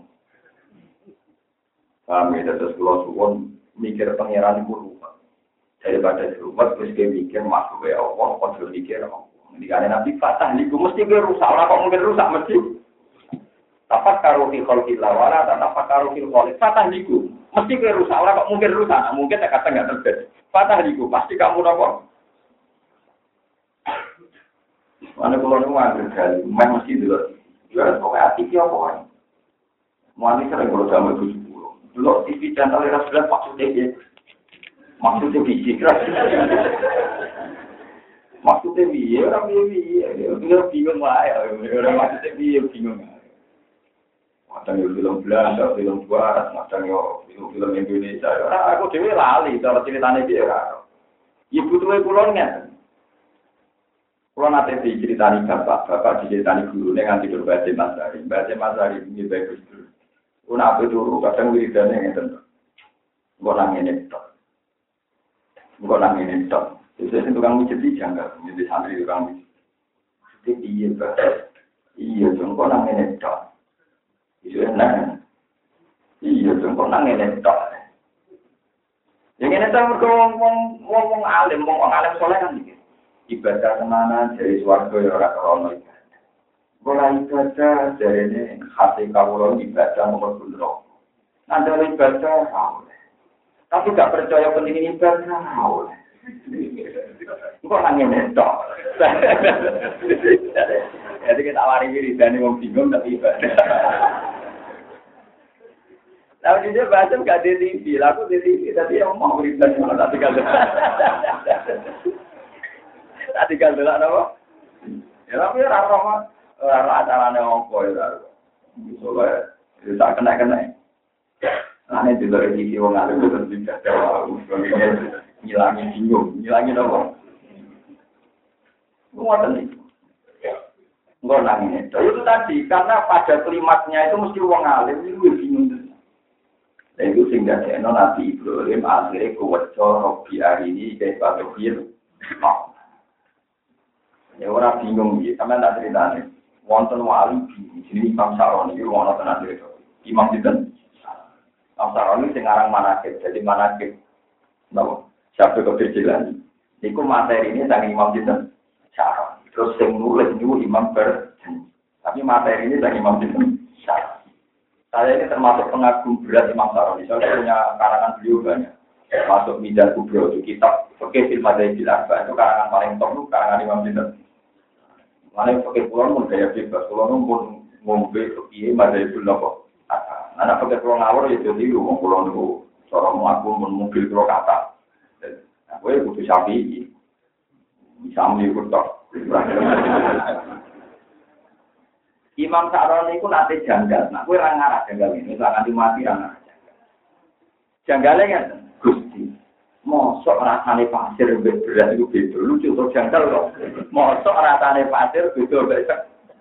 Kami terus kula suwun mikir pangeran iku ruwet. Daripada ruwet wis mikir masuk ya Allah, kok mikir apa. Dikane Nabi Fatah niku mesti rusak, ora kok mungkin rusak mesti. Tapak karo fi khalqillah wala tapak karo fil khaliq. Fatah niku mesti rusak, ora kok mungkin rusak, mungkin tak kata enggak terjadi. Patah niku pasti kamu nopo. Mana kalau nu angker kali, memang mesti dulu. Jual kok hati ki apa? Mau ani sering kalau jamu tujuh puluh. Dulu T V channel era sudah maksudnya dia, maksudnya biji keras. Maksudnya dia orang dia dia, dia bingung lah ya. Orang maksudnya dia bingung. Macam yang film Belanda, film Barat, macam yang film-film Indonesia. Nah, aku dewe lali, cara ceritanya dia kan. Ibu tuh kulonnya. Kulon nanti diceritani bapak, bapak diceritani guru, dengan tidur baca Masari, baca Masari ini bagus dulu. Kuna apa dulu, kadang wiridannya yang tentu. Gua nangin itu, gua nangin itu. Jadi tukang mijit jangan, jadi santri tukang mijit. Jadi iya, iya, cuma nangin itu. Iya, nah, iya, cuma nangin itu. Yang ini saya berkong wong wong wong alim, wong wong alim soleh kan gitu. Ibadah tenanan dari swarga ya ora krono ibadah. Ora ibadah dari ini hati kawula ibadah nomor puluh. Nanti ibadah oleh. Tapi gak percaya penting ibadah oleh. Kok nangis netok. Jadi kita awari wiridane wong bingung tapi ibadah. Tapi dia baca gak di T V, laku di T V tapi yang mau wiridan malah tak tinggal. Tak tinggal dulu apa? Ya tapi ora ora ora acarane opo ya. Soale tak kena-kena. Ane dulu T V wong alim terus dibaca ngilangi bingung, ngilangi apa? Ngoten iki. Enggak nangis. Itu tadi karena pada klimaksnya itu mesti wong alim itu bingung. Dan itu sehingga sehingga Nabi Ibrahim akhirnya kuwecco Robi hari ini kayak batu bir. Ya orang bingung gitu, sama tak ceritanya. Wonten wali di sini Imam Saroni itu wonten tenan cerita. Imam Sinten. Imam Saroni sing aran manakib, jadi manakib. Napa? Siapa kebecilan. Iku materi ini dari Imam Sinten. Saroni. Terus sing nulis niku Imam Berjen. Tapi materi ini dari Imam Sinten. Saroni. Saya ini termasuk pengagum berat Imam Saroni. Saya punya karangan beliau banyak. Masuk Midar Kubro itu kitab Fikih fil Madzhab al-Arba' itu karangan paling top itu karangan Imam Sinten. Mana fikih pulau pun gaya bebas, pulau pun ngombe fikih Madzhab al-Arba'. Anak fikih pulau ngawur ya jadi wong pulau niku cara mlaku mun mobil pulau kata. Aku ya kudu Syafi'i. Bisa mliput tok. Imam Saroni itu nanti janggal. Nah, gue orang ngarah janggal ini. Misalnya nanti mati orang ngarah janggal. Janggalnya kan, Gusti. Mosok rasanya pasir berat itu beda. Lucu tuh janggal loh. Mosok rasanya pasir beda beda.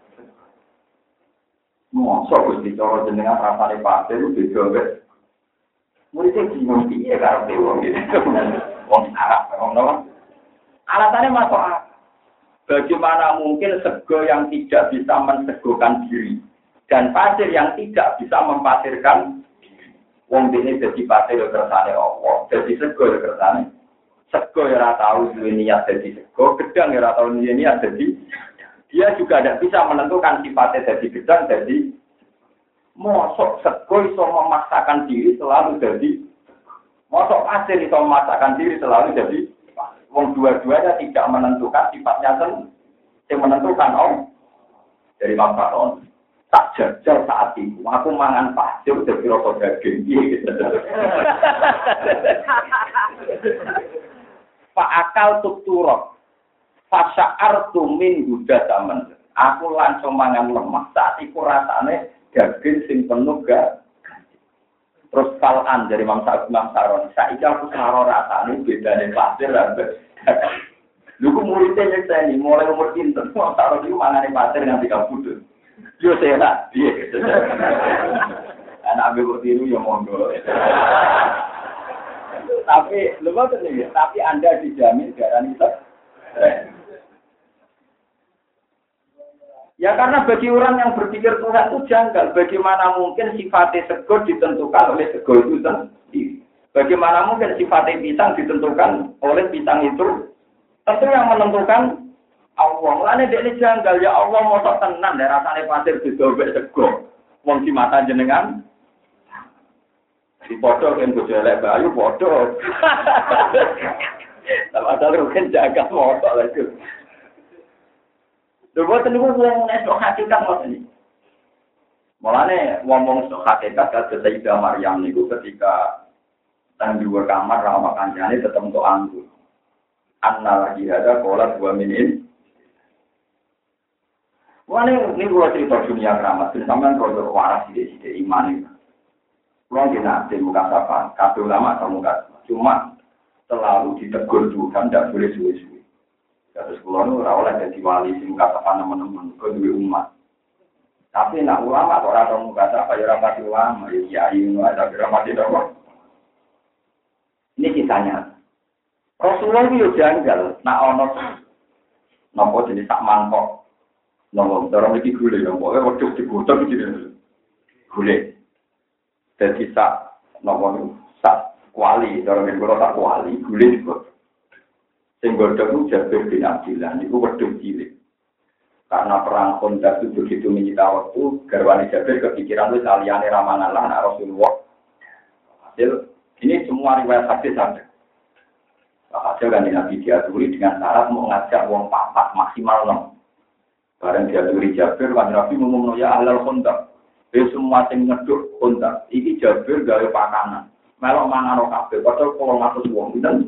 Mosok Gusti. Kalau jenengan rasanya pasir itu beda beda. Muridnya bingung. Iya karena dewa gitu. Wong Arab. Alasannya masuk akal. Bagaimana mungkin sego yang tidak bisa mensegokan diri dan pasir yang tidak bisa mempasirkan diri. Wong dene dadi pasir yo kersane Allah, dadi sego yo kersane. Sego yo ora tau duwe niat dadi sego, gedang yo ora tau duwe niat dadi. Dia juga tidak bisa menentukan sifatnya dadi gedang dadi. Mosok sego iso memaksakan diri selalu jadi. Mosok pasir iso memaksakan diri selalu jadi. Wong dua-duanya tidak menentukan sifatnya sendiri. Yang menentukan om dari Imam Saroni. Tak jajal saat itu, aku mangan pasir dari rokok daging. Gitu. Pak akal tukturok, fasya'ar tumin guda zaman. Aku langsung mangan lemah saat itu rasanya daging sing penuh gak. Terus kalan dari Imam Saroni. Saiki aku saro rasane bedane pasir lan lha ku muridnya nyekseni mulai umur pinten Imam Saroni ku mangane pasir nganti kabudut. Yo sehat piye gitu. Anak ambil tiru ya monggo. Tapi lho boten iki, tapi Anda dijamin garani itu. Ya karena bagi orang yang berpikir Tuhan itu janggal. Bagaimana mungkin sifatnya sego ditentukan oleh sego itu sendiri. Bagaimana mungkin sifatnya pisang ditentukan oleh pisang itu. Tentu yang menentukan Allah. Mulanya dia ini janggal. Ya Allah mau tenang. Ya rasanya pasir didobek sego. Wong di mata jenengan. Di podo kan bojo elek bayu podo. Tapi ada rugen jaga motor lagi. Dua tentu wong nek sok hakikat ngoten iki. Mulane ngomong sok hakikat kados Sayyidah Maryam niku ketika tang di kamar sama kancane tetep untuk anggur. Anna lagi ada pola dua menit. Mulane niku cerita dunia keramat, sampeyan kalau waras sithik-sithik iman iki. Kulo dina di muka sapa, kabeh ulama atau muka cuma selalu ditegur Tuhan tidak boleh suwe-suwe. Terus kulo nu ora oleh dadi wali sing kata teman-teman kok duwe umat. Tapi nak ulama kok ora tau kata apa ya ora pati ulama ya kiai ngono ada ora pati dong. Ini kisahnya. Rasulullah itu janggal nak ono napa jenis sak mangkok. Napa cara iki gule ya pokoke wedhus dibutuh iki gule. Dadi sak napa sak Kuali, cara men kula tak kuali, guling kok. Sing godhog ku Jabir bin Abdillah niku wedhus cilik. Karena perang Khandaq itu begitu menyita waktu, garwane Jabir kepikiran wis aliyane ramangan lah anak Rasulullah. Hasil ini semua riwayat hadis ada. Hasil kan Nabi diaturi dengan syarat mau ngajak wong papat maksimal enam. Bareng diaturi Jabir, kan Nabi ngomong ya ahlal Khandaq. Wis semua sing ngeduk Khandaq, iki Jabir gawe pakanan. Melok mangan kabeh, padahal kalau ngatus wong pinten.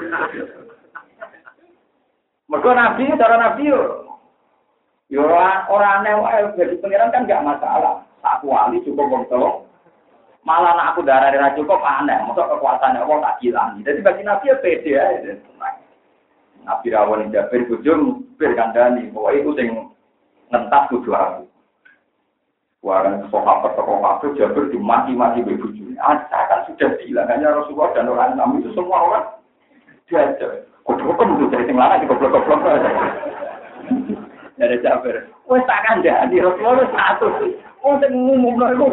Mergo Nabi, cara Nabi yo yo ora aneh wae jadi pangeran kan enggak masalah. Tak kuali cukup wong tolong. Malah nek aku darane ra cukup aneh, mosok kekuasaane wong tak hilang. Jadi bagi Nabi ya pede ae. Nabi rawon Jabir bujum bir kandhani, pokoke iku sing ngentas kudu aku. Warang sahabat tokoh waktu Jabir dimaki-maki bebujune. Ah, kan sudah bilang hanya Rasulullah dan orang Islam itu semua orang diajar. Kok kan udah dari sing lanang goblok-goblok aja. Dari Jabir. Wes tak kandhani Rasulullah satu. Oh sing ngumumno iku.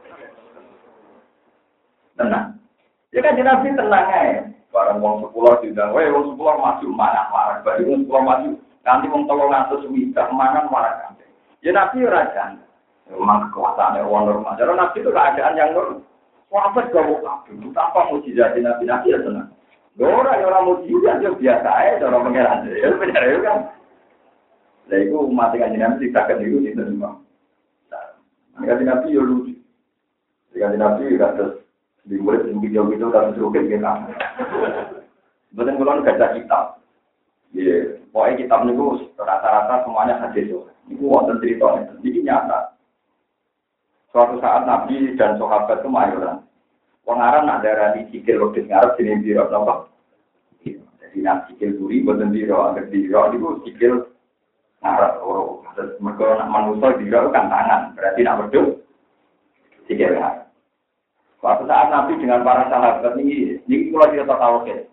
Tenang. Ya kan Nabi tenang ae. Barang wong sepuluh diundang, "Weh, wong sepuluh maju marah-marah." Bari wong sepuluh maju, nanti wong tolong atus widak mangan marah kabeh. Ya Nabi ora jan. Memang kekuasaannya orang normal. Jadi Nabi itu keadaan yang normal. Sahabat gak mau kabur. Tanpa mujizat Nabi, Nabi ya tenang. Orang yang orang mujizat itu biasa aja. Orang pengeran. Ya benar ya kan. Nah itu umat yang Nabi tidak itu tidak semua. Nabi Nabi ya lucu. Nabi Nabi ya terus di murid yang video-video dan serugit kita. Betul kalau baca kitab. Ya, pokoknya kitab itu rata-rata semuanya hadis. Itu wonten cerita. Jadi nyata. Suatu saat Nabi dan sahabat itu mayoran. Wong Arab nak darani sikil wedhus ngarep jenenge biro napa? Jadi nak sikil buri boten biro, anggere biro niku sikil ngarep ora. Terus mergo nak manusa biro kan tangan, berarti nak wedhus sikil ngarep. Suatu saat Nabi dengan para sahabat ini, niki kula cerita tauhid.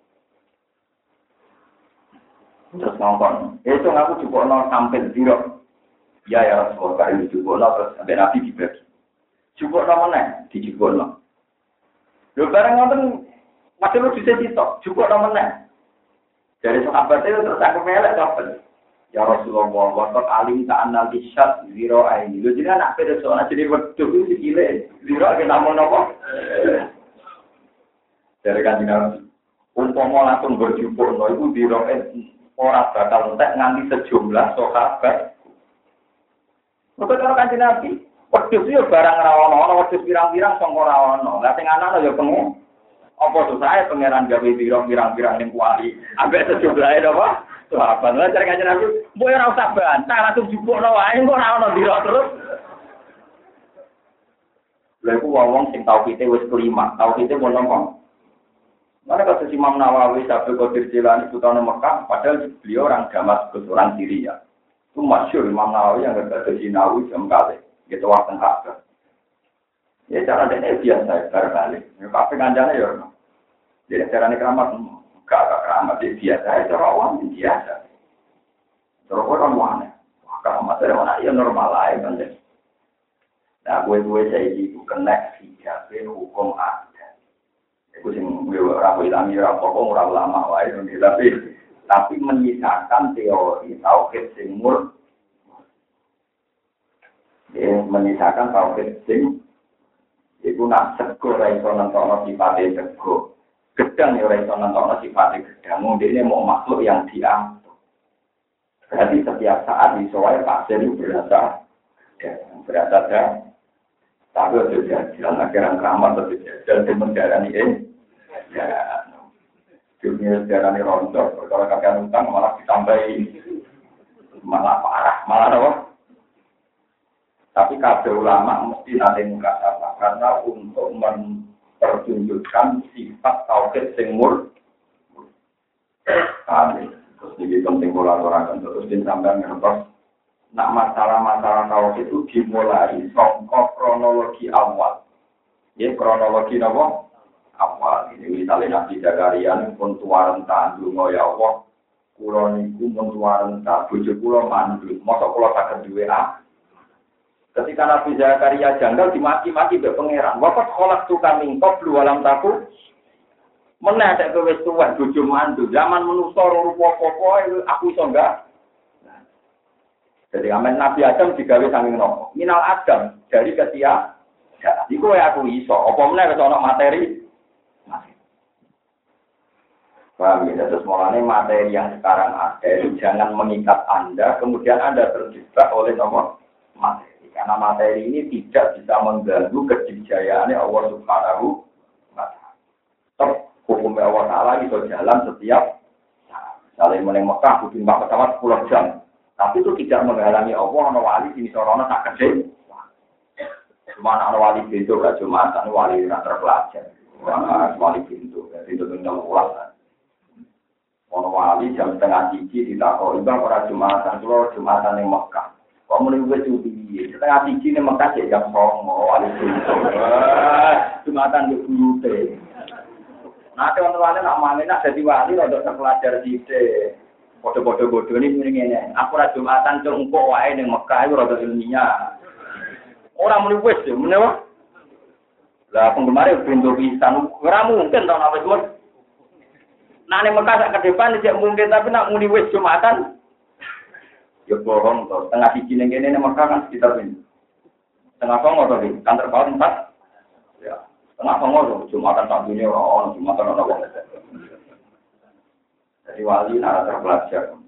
Terus ngomong, "Itu aku jupukno sampel biro." Ya ya Rasulullah kali dijupukno terus sampai Nabi dibagi. Jupukno meneh, dijupukno. Lho bareng ngoten masih lu bisa ditok, jupukno meneh. Dari sahabat itu terus aku melek kabeh. Ya Rasulullah, waqat alim ta'annal isyad zero aini. Lho jenengan nak pede soal jadi wedhus iki sikile. Zero ge namung napa? Dari kanjeng Nabi. Umpama langsung berjupukno iku zero ora bakal entek nganti sejumlah sahabat. Mereka cara kanjeng Nabi, wedhus yo barang ra ono, ana wedhus pirang-pirang sing ora ono. Lah sing ana yo pengen. Apa dosae pangeran gawe pirang-pirang ning kuali. Ambek sejumlahe napa? Sahabat. Lah cara kanjeng Nabi, mbok ora usah bantah, langsung jupukno wae kok ora ono dira terus. Lha iku wong sing tauhide wis kelima, tauhide mun napa? Mana kata Imam Nawawi sampai Qadir Jilani putana Mekah, padahal beliau orang Damaskus, orang Syria. Itu masyhur Imam Nawawi yang berkata Sinawi jam kali, gitu waktu kakak. Ya cara dia biasa, cara kali. Ya kafe kanjane ya. Jadi cara ini keramat, enggak agak keramat dia biasa, cara awam biasa. Cara orang mana? Keramat dari mana? Ya normal aja kan. Nah, gue-gue saya itu kena hijab hukum ada. Itu sing gue ora ilami ora apa ora ulama wae tapi tapi menyisakan teori tauhid sing mur. Ya, menyisakan tauhid sing iku nak sego ora iso nentokno sifate sego. Gedang ya ora iso nentokno sifate gedang. Mundine mau makhluk yang diatur. Berarti setiap saat iso wae pasir berasa ya, berasa dah. Tapi sudah jalan akhirnya keramat atau dan mendarani ini. Ya, dunia sejarah ini rontok. Kalau kakek utang malah ditambahi, malah parah, malah apa? Tapi kabeh ulama mesti nanti muka apa? Karena untuk mempertunjukkan sifat tauhid sing mur. Kali terus jadi penting kolaborasi terus disampaikan ngertos. Nak masalah-masalah tauhid itu dimulai saka kronologi awal. Ya kronologi apa? Awal ini misalnya Nabi Zakaria pun tuaran tandung ya Allah kula niku pun tuaran ta bojo kula mandul mosok kula saged duwe a ketika Nabi Zakaria janggal dimaki-maki mbek pangeran wakat kholak tu kami qablu walam taku Meneh nek kowe wis tuwek bojo mantu, zaman manusa rupa apa aku iso enggak. Jadi amen Nabi Adam digawe sanging nopo? Minal Adam dari ketia. Ya, iku aku iso. Apa meneh wis ana materi? Paham ya, terus mulanya materi yang sekarang ada itu jangan mengikat Anda, kemudian Anda terjebak oleh nomor materi. Karena materi ini tidak bisa mengganggu kejayaan Allah Subhanahu wa Ta'ala. Tetap hukumnya Allah Ta'ala bisa jalan setiap saat. Misalnya mulai Mekah, butuh lima pesawat sepuluh jam. Tapi itu tidak menghalangi Allah, ada wali sini sorona tak kecil. Cuma ada wali pintu, gak cuma ada wali yang terpelajar. Wali pintu, pintu tinggal ulang. Ono wali jam setengah tiga ditakoi bang ora Jumatan, kalau Jumatan yang Mekah. Kok mulai gue cuti, setengah tiga nih Mekah sih jam songo wali itu. Jumatan di Bute. Nah teman-teman nak mana nak jadi wali untuk terpelajar di Bute. Bodoh-bodoh-bodoh ini mendingan. Aku ora Jumatan cengkok wae ning Mekah itu rada ilmiah. Orang mulai wes, menapa? Lah penggemar pintu pisan, ora mungkin tau apa semua. Nah, ini Mekah sak ke depan tidak mungkin, tapi nak muni wis Jumatan. Ya bohong toh. Tengah siji ning kene Mekah kan sekitar ini. Tengah songo to iki, kan terpaut empat. Ya, tengah songo to Jumatan sak dunia ora ono, Jumatan ora ono. Jadi wali nara terpelajar.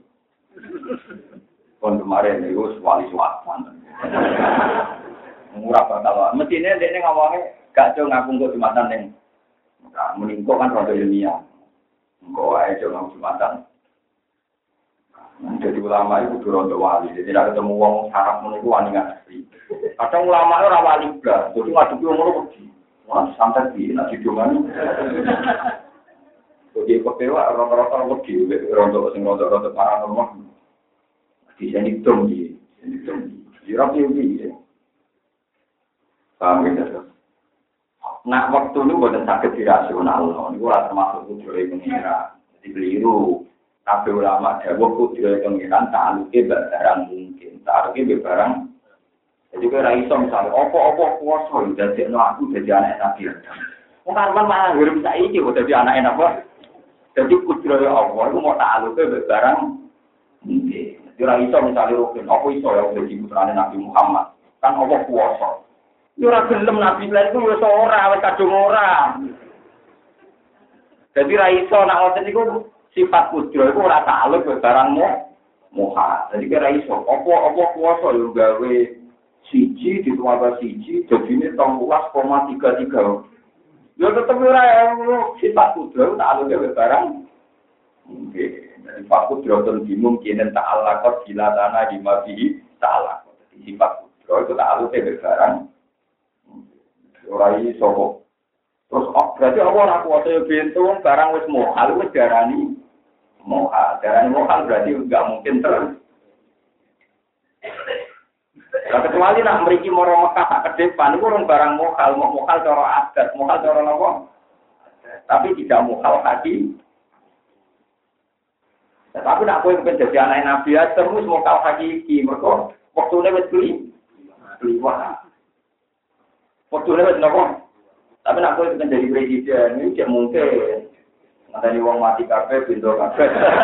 Kon kemarin itu wali suatan. Murah bakal. Mestine dekne ngomongnya gak jo ngaku kok Jumatan ning Mekah. Meningko kan rada ilmiah. Engkau aja orang Jumatan. Jadi ulama itu durung wali. Jadi tidak ketemu wong sarap menunggu wani ngasih. Kadang ulama itu orang wali belas. Jadi ngadepi umur pergi. Wah santai di nasi dungan. Jadi kepewa rata-rata pergi. Rontok sing rontok-rontok paranormal. Di sini dong di. Sini dong di. Di rapi ubi. Paham gitu. Nah, waktu itu bukan sakit dirasional, itu termasuk kudroy pengira. Jadi keliru. Kabeh ulama dawuh kudroy pengiran ta'alluke barang mungkin, ta'alluke barang. Jadi kira iso misalnya, opo-opo kuasa dadekno aku dadi anak Nabi Adam. Wong karman malah urip saiki kok dadi anak apa? Jadi kudroy Allah itu mau ta'alluke barang mungkin. Jadi ora iso misalnya rugen, opo iso ya dadi putrane Nabi Muhammad. Kan opo kuasa. Yo ora gelem Nabi lan iku wis ora wis kadung ora. Dadi ra iso nek ngoten niku sifat kudro iku ora takluk barangmu moha. Dadi ra iso apa-apa kuwasa yo gawe siji ditambah siji dadine tonglulas koma tiga tiga. Yo tetep ora sifat kudro takluk gawe barang. Nggih, dadi sifat kudro ten dimungkinen ta'ala kok dilatana di mafi ta'ala. Dadi sifat kudro itu takluk gawe barang. Ora iso. Terus oh, berarti apa ora kuwasa bentu barang wis mohal wis darani mohal. Darani mohal berarti enggak mungkin terus. Lah kecuali nak mriki moro Mekah sak kedepan iku urung barang mohal, mau mohal cara adat, mohal cara napa? Tapi tidak mohal hati. Tapi nak kowe pengen dadi anak Nabi terus mohal hakiki, mergo wektune wis beli. Beli wah. Waktu lewat nopo, tapi nak boleh jadi presiden ini tidak mungkin. Nanti uang mati kafe, pintu kafe.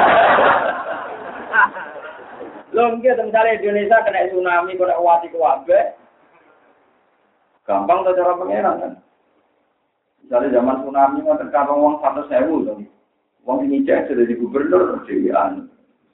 Lo mungkin misalnya Indonesia kena tsunami, kena wati kafe, gampang tuh cara pengeran kan. Misalnya zaman tsunami mau terkabang uang satu sewu tuh, uang ini cek sudah di gubernur Dewan.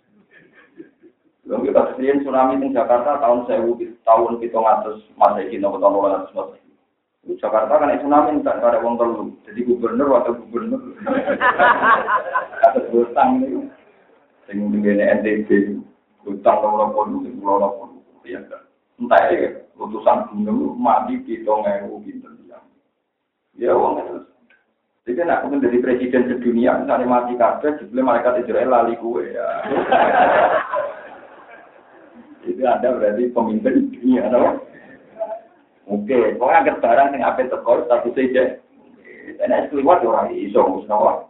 Lo kita sediain tsunami di Jakarta tahun sewu tahun kita ngatus masa ini tahun dua ratus masa. Jakarta kan tsunami tak ada wong telu. Jadi gubernur atau gubernur atas hutang itu sing ngene N T B hutang loro puluh loro puluh ya kan. Entah ya putusan gunung mati pitung ewu pinten ya. Ya wong itu. Jadi nak menjadi presiden sedunia misalnya mati kabeh jebule malaikat Israel lali kuwe ya. Itu ada berarti pemimpin dunia no? Oke, pokoknya agak barang yang apa terkor satu saja. Dan es keluar orang iso musnawar.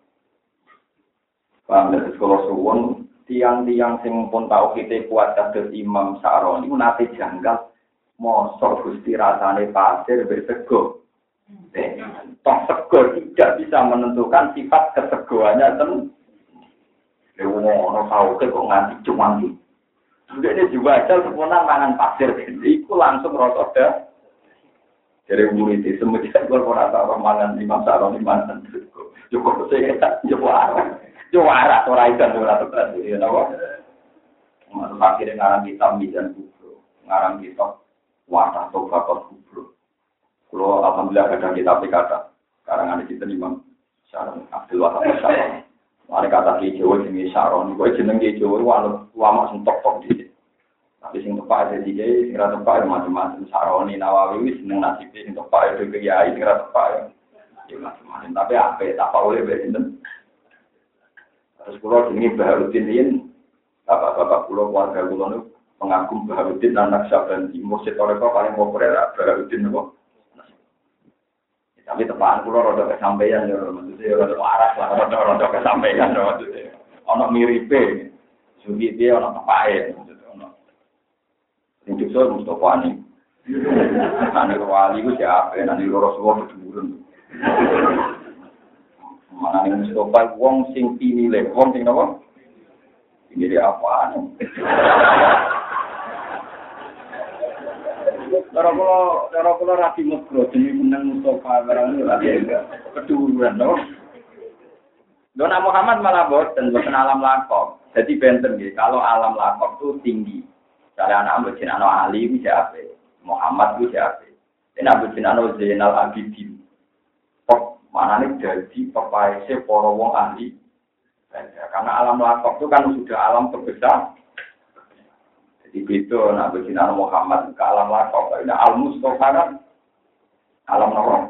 Paham dari sekolah suwon tiang-tiang sing pun tahu kita kuat kados Imam Sa'roni nate janggal mosok Gusti rasane pasir bersego. Toh sego tidak bisa menentukan sifat kesegoannya tem. Lewat orang tahu ke kok nganti cuma di. Sudah ini juga aja sempurna mangan pasir. Iku langsung rosot dah. Dari murid itu semenjak korporat apa mangan lima sarong lima sarong cukup saya tak juara juara orang itu juara terus ya tahu. Masuk akhirnya ngarang kitab Mizan Kubro, ngarang kitab Wadah Tobakat Kubro. Kalau alhamdulillah kadang kitab kata karangan di situ Imam Syaroni Abdul Wahab Syaroni. Mari kata Ki Jawa jenenge Syaroni, kowe jeneng Ki Jawa wae lama sing tok-tok di. Tapi sing tepak iki sing ra tepak macam-macam Syaroni Nawawi wis seneng nasibe sing tepak iki kiai sing ra tepak ya macam-macam. Tapi apik tak oleh ben. Terus kula jenenge Baharudin yen bapak-bapak kula keluarga kula niku pengagum Baharudin anak Syaban di Mursyid Toreko paling populer Baharudin niku. Tapi tepaan kula rada kesampaian ya maksudnya rada waras lah rada kesampaian maksudnya. Ana miripe. Sugi dia ana tepake maksudnya ana. Sing dikso Mustofa ni. Ane wali ku siapa? Nanti loro suwo keduren. Mana ning Mustofa wong sing pinile, wong sing napa? Ini apaan? Cara kula, cara kula rapi mukro, jadi menang Mustafa barang ini lagi keduruan, loh. Dona Muhammad malah boten, boten alam lakok. Jadi benten gitu. Kalau alam lakok itu tinggi. Misalnya anak Abu Jinano Ali itu siapa? Muhammad itu siapa? Dan Abu Jinano Zainal Abidin. Kok mana nih jadi pepaise para wong ahli? Karena alam lakok itu kan sudah alam terbesar. Jadi itu Nabi Sinar Muhammad ke alam lakok. Ini al-Mustafa kan alam lakok.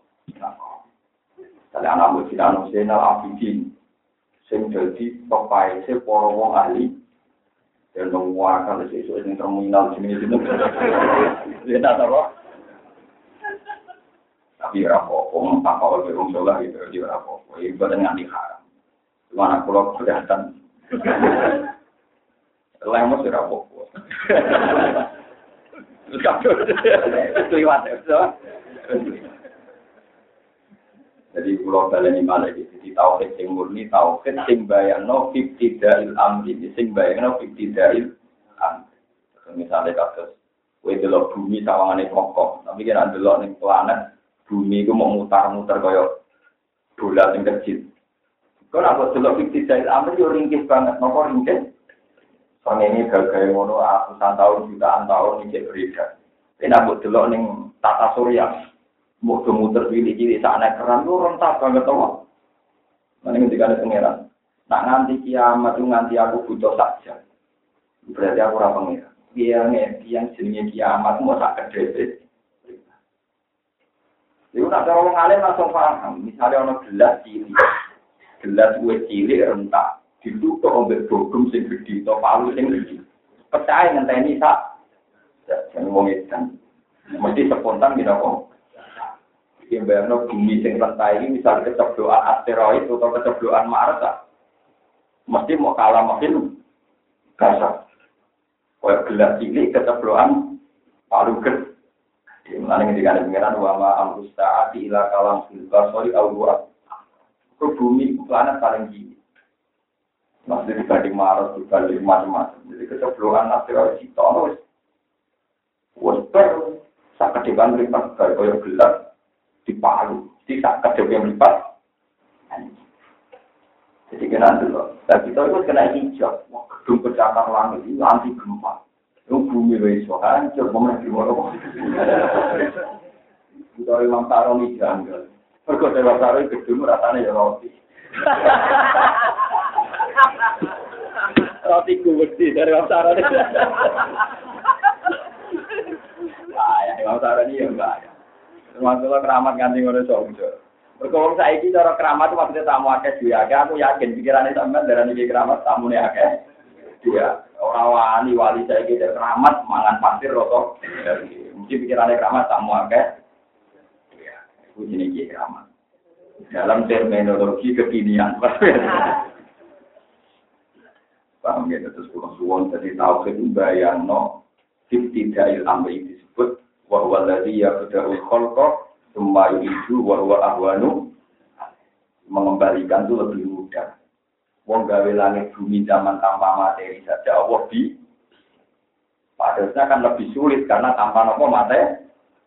Jadi Nabi Sinar Zainal Abidin. Sing jadi pepaise para wong ahli. Dan menguatkan sesuatu yang terminal sini-sini. Dia tak tahu. Tapi rapopo, tak kau berung solah gitu. Dia rapopo. Ibadah dengan diharam. Mana pulau kelihatan. Lemos ora apa-apa. Terus kabeh kliwat ya. Jadi pulau baleni malah iki dadi tauhid sing murni, tauhid sing bayangno ibtidail amri, sing bayangno ibtidail amri. Misale kados kowe delok bumi sawangane kokoh, tapi kira delok ning planet bumi iku mau mutar-muter kaya bola sing kecil. Kok ora delok ibtidail amri yo ringkih banget, napa ringkih? Soalnya ini gagal ngono ratusan tahun, jutaan tahun ini berbeda. Ini aku delok ning tata surya, mau muter pilih-pilih sana keran lu rentak banget tau. Mana ketika ada pangeran, nak nganti kiamat itu nganti aku butuh saja. Berarti aku ora pangeran. Dia ngerti yang jenenge kiamat mau sak kedhe. Iku nak cara wong alim langsung paham. Misalnya ana gelas cilik, gelas wis cilik rentak. Ditutup ombek bogum sing gede atau palu sing gede. Percaya ngenteni sak. Jangan wong edan. Mesti spontan gitu kok. Iki bayangno bumi sing rentai ini misal keceblokan asteroid atau keceblokan Mars. Mesti mau kalah makin kasar. Kayak gelas cilik keceblokan palu gede. Di mana ngendikane pengiran wa ma amrusta'ati ila kalam fil basari au wa. Ke bumi planet paling tinggi. Masih dibanding Mars, dibanding macam-macam. Jadi keceblokan asteroid itu, wes, wes ber, saat kedepan lipat dari koyor gelas di Palu, di saat kedepan lipat. Jadi kena dulu. Dan kita itu kena hijab, gedung pencakar langit itu anti gempa. Itu bumi wes hancur, pemenang di mana? Kita Imam Saroni janggal. Pergoda Imam Saroni gedung rasanya ya roti. Roti gede dari Wasara ini. Nah, yang Wasara ini ya enggak ya. Termasuklah keramat ganti ngono sojo. Berkong saiki cara keramat itu maksudnya tamu akeh duwe akeh. Aku yakin pikirane sampean darani iki keramat tamune akeh. Dia ora wani wali saiki keramat mangan pasir roto. Mesti pikirane keramat tamu akeh. Ya, iku jenenge keramat. Dalam terminologi kekinian. Paham ya, terus pulang suwon jadi tauhid bayang no ibtidail amri disebut wa huwa alladzi yabda'ul khalqa Semua itu wa ahwanu mengembalikan itu lebih mudah. Wong gawe langit bumi zaman tanpa materi saja Allah bi. Padahal kan lebih sulit karena tanpa apa materi.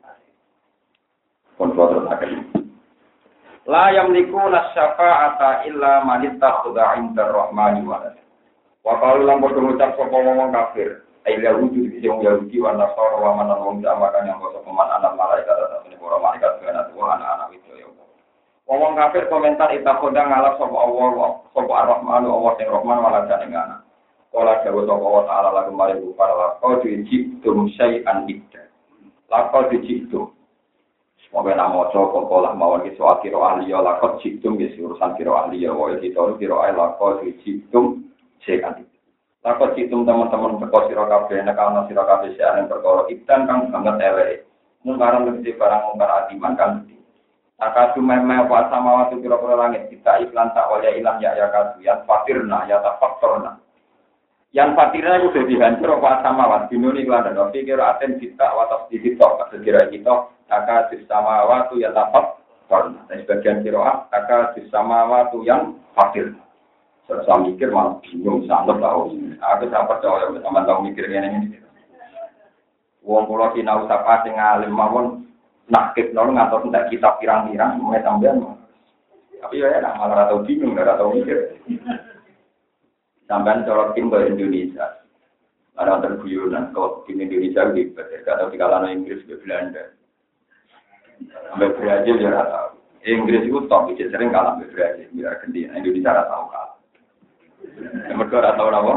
Kontrol akan. La yamliku nasyafa'ata illa man ittakhadha 'inda ar-rahmani walad. Wa qalu lam berducap sapa wong kafir. Aila wujud di sing Yahudi wa Nasara wa man wong jamakan yang basa peman anak malaikat atau para malaikat kana Tuhan anak itu ya. Wong kafir komentar ittakhadha ngalap sapa Allah sapa ar-rahmanu Allah sing rahman walad ing anak. Kala dawuh sapa Allah taala lagu mari para laqad jitum syai'an idda. Laqad jitum Moga nama cokok pola mawon ki soal kiro ahli ya lakot jitum ki urusan kiro ahli ya wae kita kiro ahli lakot jitum sekan. Lakot jitum teman-teman teko sira kabeh nek ana sira kabeh seane perkara ikan kang banget elek. Mung barang mesti barang mungkar adiman kan. Akadu meme wa samawati kira-kira langit kita iklan tak waya ilang ya ya kadu yang fakirna ya tafaktorna. Yang fakirna itu sudah dihancur wa samawati dinuni iklan dan pikir aten kita wa tafsir kita sekira kita Aka disama waktu yang dapat karena dan sebagian kiroah aka disama waktu yang fakir. Saya mikir malah bingung sangat tahu. Aku tak percaya sama tahu mikirnya ini. Wong pulau Cina usaha sing alim mawon nakib nol ngatur tidak kitab pirang-pirang mulai sampean. Tapi ya nak malah tahu bingung, nggak tahu mikir. Sampean colok tim ke Indonesia. Ada terguyuran kalau tim Indonesia di atau di kalangan Inggris di Belanda. Sampai Brazil ya rata. Inggris itu top, bisa sering kalah sampai Brazil. Biar ganti Indonesia rata tahu kalah. Mereka rata tahu apa?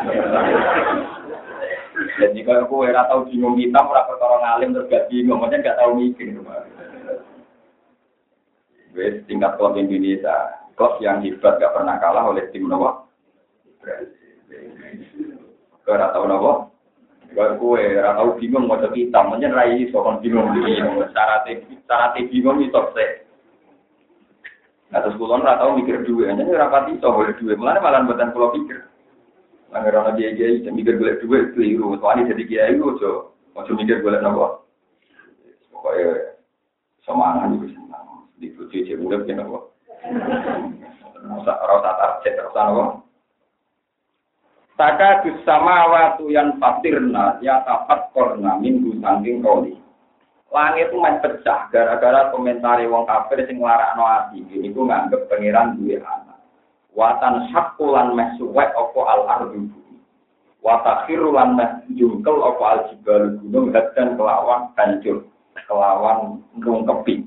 Dan jika aku rata tahu bingung kita, mereka orang alim terus gak bingung, maksudnya gak tahu mikir. Wes tingkat klub Indonesia, klub yang hebat gak pernah kalah oleh tim Nawa. Mereka rata tahu Nawa. Kalau kue ratau bingung mau jadi hitam, macam rai soal bingung bingung. Cara te, cara te bingung itu sih. Atas kulon ratau mikir dua, jadi rapati soal dua. Malah malah buatan pulau pikir. Anggaran dia dia itu mikir golek dua keliru. Soalnya jadi dia itu jo, macam mikir golek nopo. Pokoknya semangat juga senang. Di tujuh jam udah kena nopo. Rasa rasa target rasa nopo. Taka bersama waktu yang fatirna ya tapat korna minggu sangking koli. Langit itu main pecah gara-gara komentari wong kafir sing nglarakno ati. Ini ku nganggep pangeran duwe anak. Watan syakulan mesuwek opo al ardu. Watakhirulan meh jungkel opo al jibal gunung dan kelawan hancur, kelawan rungkepi.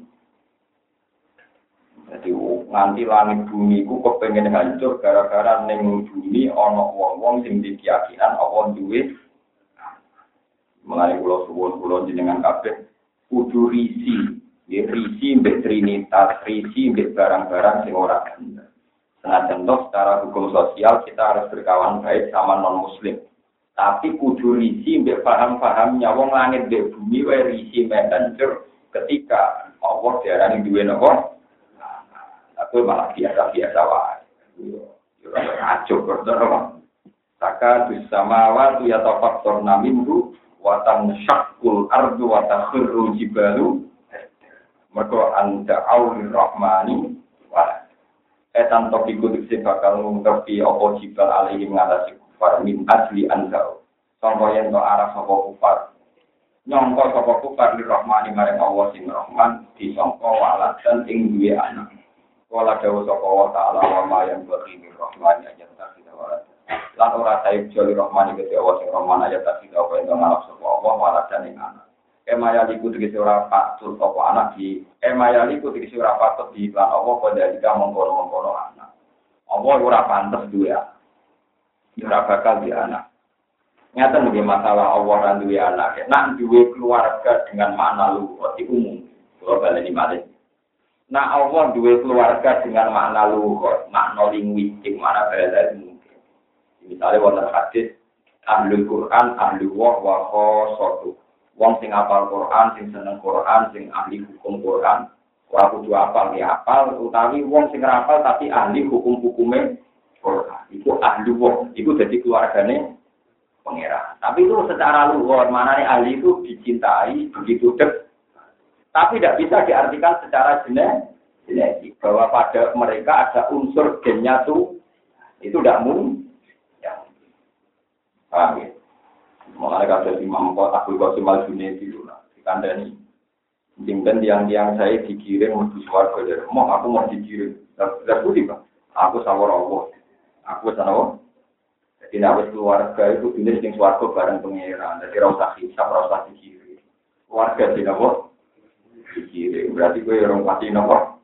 Jadi nganti langit bumi ku kepengen hancur gara-gara ning bumi ana wong-wong sing dikeyakinan Allah duwe. Mulai kula suwun kula jenengan kabeh kudu risi, ya risi mbek trinitas, risi mbek barang-barang sing ora bener. Senajan toh secara hukum sosial kita harus berkawan baik sama non muslim. Tapi kudu risi mbek paham-pahamnya wong langit mbek bumi wae risi mbek hancur ketika Allah diarani duwe napa? Aku malah biasa-biasa wae. Yo ora acuk terus. Saka bersama waktu ya tafaktor naminhu wa tanshaqul ardu wa takhirru jibalu. Mergo anda aulir rahmani wa etan topiku dikse bakal ngungkepi apa jibal alaihi ngatasi kufar min asli anda. Sampai yen to arah sapa kufar. Nyangka sapa kufar li rahmani marang Allah sing rahman disangka walad dan ing duwe anak. Wala dawu sapa wa ta'ala wa ma yang berimi rahmani ayat tasida wa lan ora saib joli rahmani kete Allah sing rahman ayat tasida wa ento ngalap sapa Allah wala jane anak emaya liku tegese ora patut apa anak di emaya liku tegese ora patut di lan Allah padha dika mongkon-mongkon anak Allah ora pantes duwe anak ora bakal di anak nyata nggih masalah Allah lan duwe anak nek duwe keluarga dengan makna luhur iku umum kula baleni malih. Nah Allah dua keluarga dengan makna luhur, makna linguistik, makna bahasa mungkin. Misalnya wonten hadis ahlul Quran, ahlul wah wa khosotu. Wong sing hafal Quran, sing seneng Quran, sing ahli hukum Quran, ora kudu hafal ya hafal, utawi wong sing hafal tapi ahli hukum-hukume Quran. Iku ahli wah, iku dadi keluargane pangeran. Tapi itu secara luhur, maknane ahli itu dicintai begitu dekat. Tapi tidak bisa diartikan secara genetik bahwa pada mereka ada unsur gennya tuh itu tidak mungkin. Ya. Paham ya? Mulai kalau Imam Abdul Qasim Al-Junaidi itu lah, dikandani. Jengben tiang-tiang saya dikirim menuju suarga dari mau aku mau dikirim. Tidak boleh Pak. Aku sawar Allah. Aku sana. Jadi nak keluarga itu jenis yang suarga bareng pengeran. Jadi rasa hisap, rasa dikirim. Keluarga di nama dikirim. Berarti gue orang pasti nama.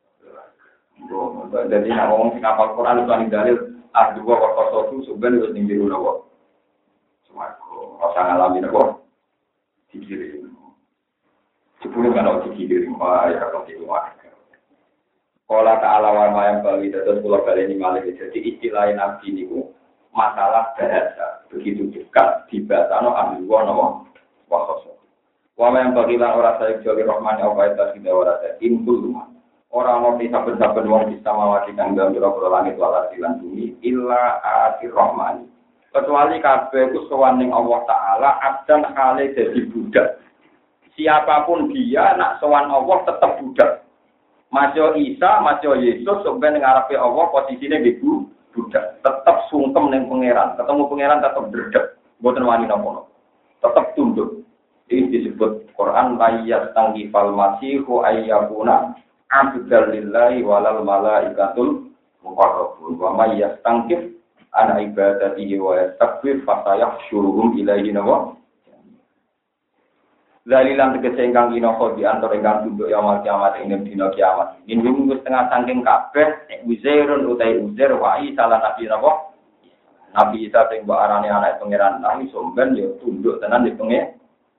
Jadi nak ngomong sing hafal Quran itu paling dalil ah dua waktu itu sebenarnya harus tinggi dulu nama. Suarga. Rasa ngalami nama dikirim. Sepuluh kan harus dikirim. Wah ya kalau itu wah. Kala ta'ala wa mayam bali dados kula baleni malih jadi istilah nabi niku masalah bahasa begitu dekat dibasano ahli wa nawa wa khoso. Wa mayam bali lan ora sae joli rahmane apa eta sing ora sae impul ora ono saben-saben wong bisa mawati kang gambira langit wal lan bumi illa atir rahmani. Kecuali kabeh ku sowan ning Allah taala abdan hale dadi budak. Siapapun dia nak sowan Allah tetap budak. Masya Isa, Masya Yesus, sebenarnya ngarepe Allah posisinya ibu budak, tetap sungkem neng pangeran, ketemu pangeran tetap berdek, buatan wani nopo, tetap tunduk. Ini disebut Quran layat tanggi fal masihu ayyakuna abdal lillahi walal malaikatul muqarrabun wa may yastangkif an ibadatihi wa yastakbir fasayahsyuruhum ilaihi nawa. Dalilan tegese ingkang kinoko di antara ingkang tunduk yaumul kiamat ing dina kiamat. Ing minggu setengah saking kabeh Uzairun utai Uzair wa Isa lan Nabi napa? Nabi Isa sing mbok arane anak pangeran nang somben ya tunduk tenan di pengen.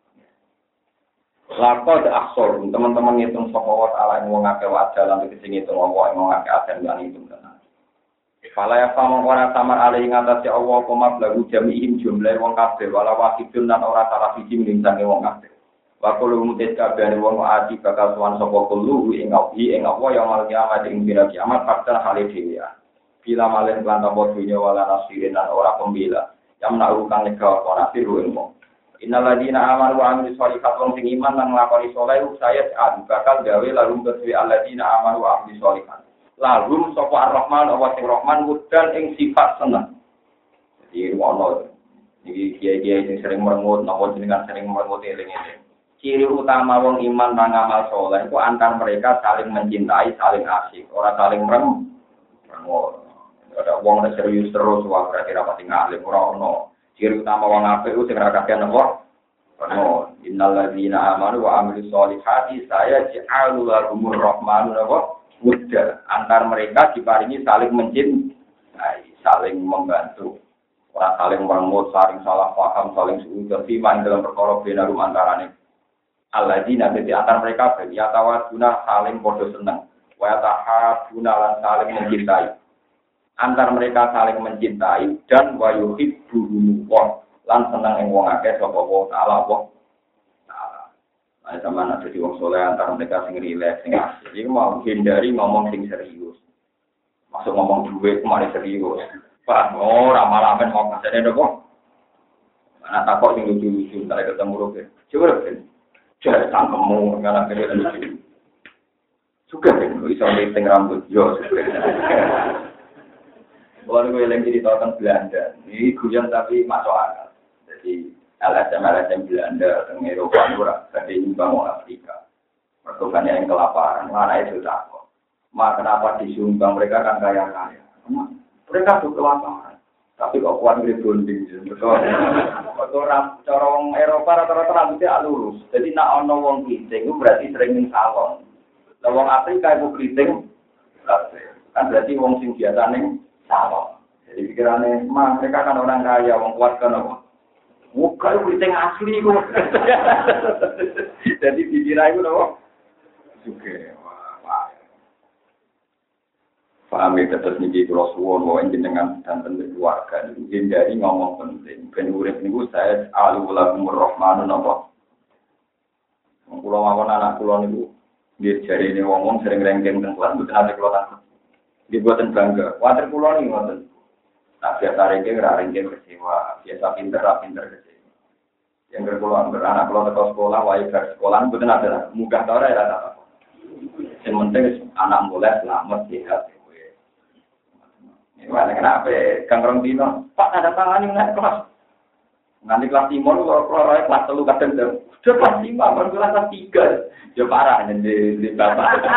Laqad akhsar teman-teman ngitung sapa wa taala ing wong akeh wajah lan tegese ngitung apa ing wong akeh aten lan ngitung tenan. Fala ya sama ora samar ali ing atase Allah koma blagu jami'im jumlah wong kabeh wala wahidun lan ora salah siji ning sange wong kabeh. Wakulu mutis kabeh wong ati bakal sowan sapa kulo ing ngawi ing apa ya mal kiamat ing dina kiamat faktor hale dhewe. Bila malen lan tambah dunya wala nasirin lan ora pembela. Yang menaruhkan nega ora siru ing wong. Innal ladina amanu wa amilus sholihat wong sing iman lan nglakoni saleh saya bakal gawe lalu kedue alladzina amanu wa amilus sholihat. Lalu sapa ar-Rahman wa sing Rahman mudan ing sifat seneng. Jadi ono iki kiai-kiai sing sering merengut napa jenengan sering merengut eling-eling. Ciri utama wong iman lan amal saleh itu antar mereka saling mencintai, saling asik, ora saling mereng. Ada wong nek serius terus wae berarti ra pati ngalim ora ono. Ciri utama wong apik itu sing ra kakean apa? Ono innal ladzina amanu wa amilus sholihati saya ja'alu lahumur rahmanu apa? Muda antar mereka diparingi saling mencintai, saling membantu. Ora saling merengut, saling salah paham, saling suudon iman dalam perkara benarum antarane. Alladzina di antara mereka ya tawaduna saling podo seneng wa tahabuna lan saling mencintai antar mereka saling mencintai dan wa yuhibbuhum wa lan seneng ing wong akeh sapa wa taala wa taala ana samana dadi wong saleh antar mereka sing rileks sing asik iki mau hindari ngomong sing serius masuk ngomong duwe kemari serius Pak ora malah men mau kasane ndoko ana takok sing lucu-lucu entar ketemu roke coba kan jadi tangkemu ngana kene lucu. Suka kan iso meeting rambut yo suka. Orang gue lagi di tahun Belanda. Ini guyon tapi masuk akal. Jadi L S M L S M Belanda teng Eropa ora gede nyumbang wong Afrika. Perkembangan yang kelaparan, mana itu takut. Ma kenapa disumbang mereka kan kaya-kaya. Mereka tuh kelaparan. Tapi kok kuat berbonding. Betul. Orang corong Eropa rata-rata rambutnya lurus. Jadi nak ono wong keriting itu berarti sering ning salon. Lah wong Afrika itu keriting kan berarti wong sing biasa ning salon. Jadi pikirannya, mah mereka kan orang kaya, wong kuat kan apa? Muka itu keriting asli kok. Jadi pikiran itu apa? Juga. Paham ya, terus niki kula suwun wae jenengan dan tentu keluarga niku hindari ngomong penting. Ben urip niku saya alul rahmanun apa. Kula mawon anak kula niku nggih jarine wong-wong sering rengking teng kelas mboten ate kula takut. Nggih boten bangga. Water kula niku ngoten. Nah, biasa rengking ra rengking kecewa, biasa pinter ra pinter kecewa. Yang berpulang beranak kalau ke sekolah, wajib ke sekolah, betul ada mudah tau ya rata. Yang penting anak mulai selamat sehat. Ini mana kenapa? Kang Rondino, Pak ada tangan ini naik kelas. Nanti kelas lima lu kalau kelas kelas telu kadang jam, sudah kelas lima, baru kelas tiga, ya parah jadi di bapak.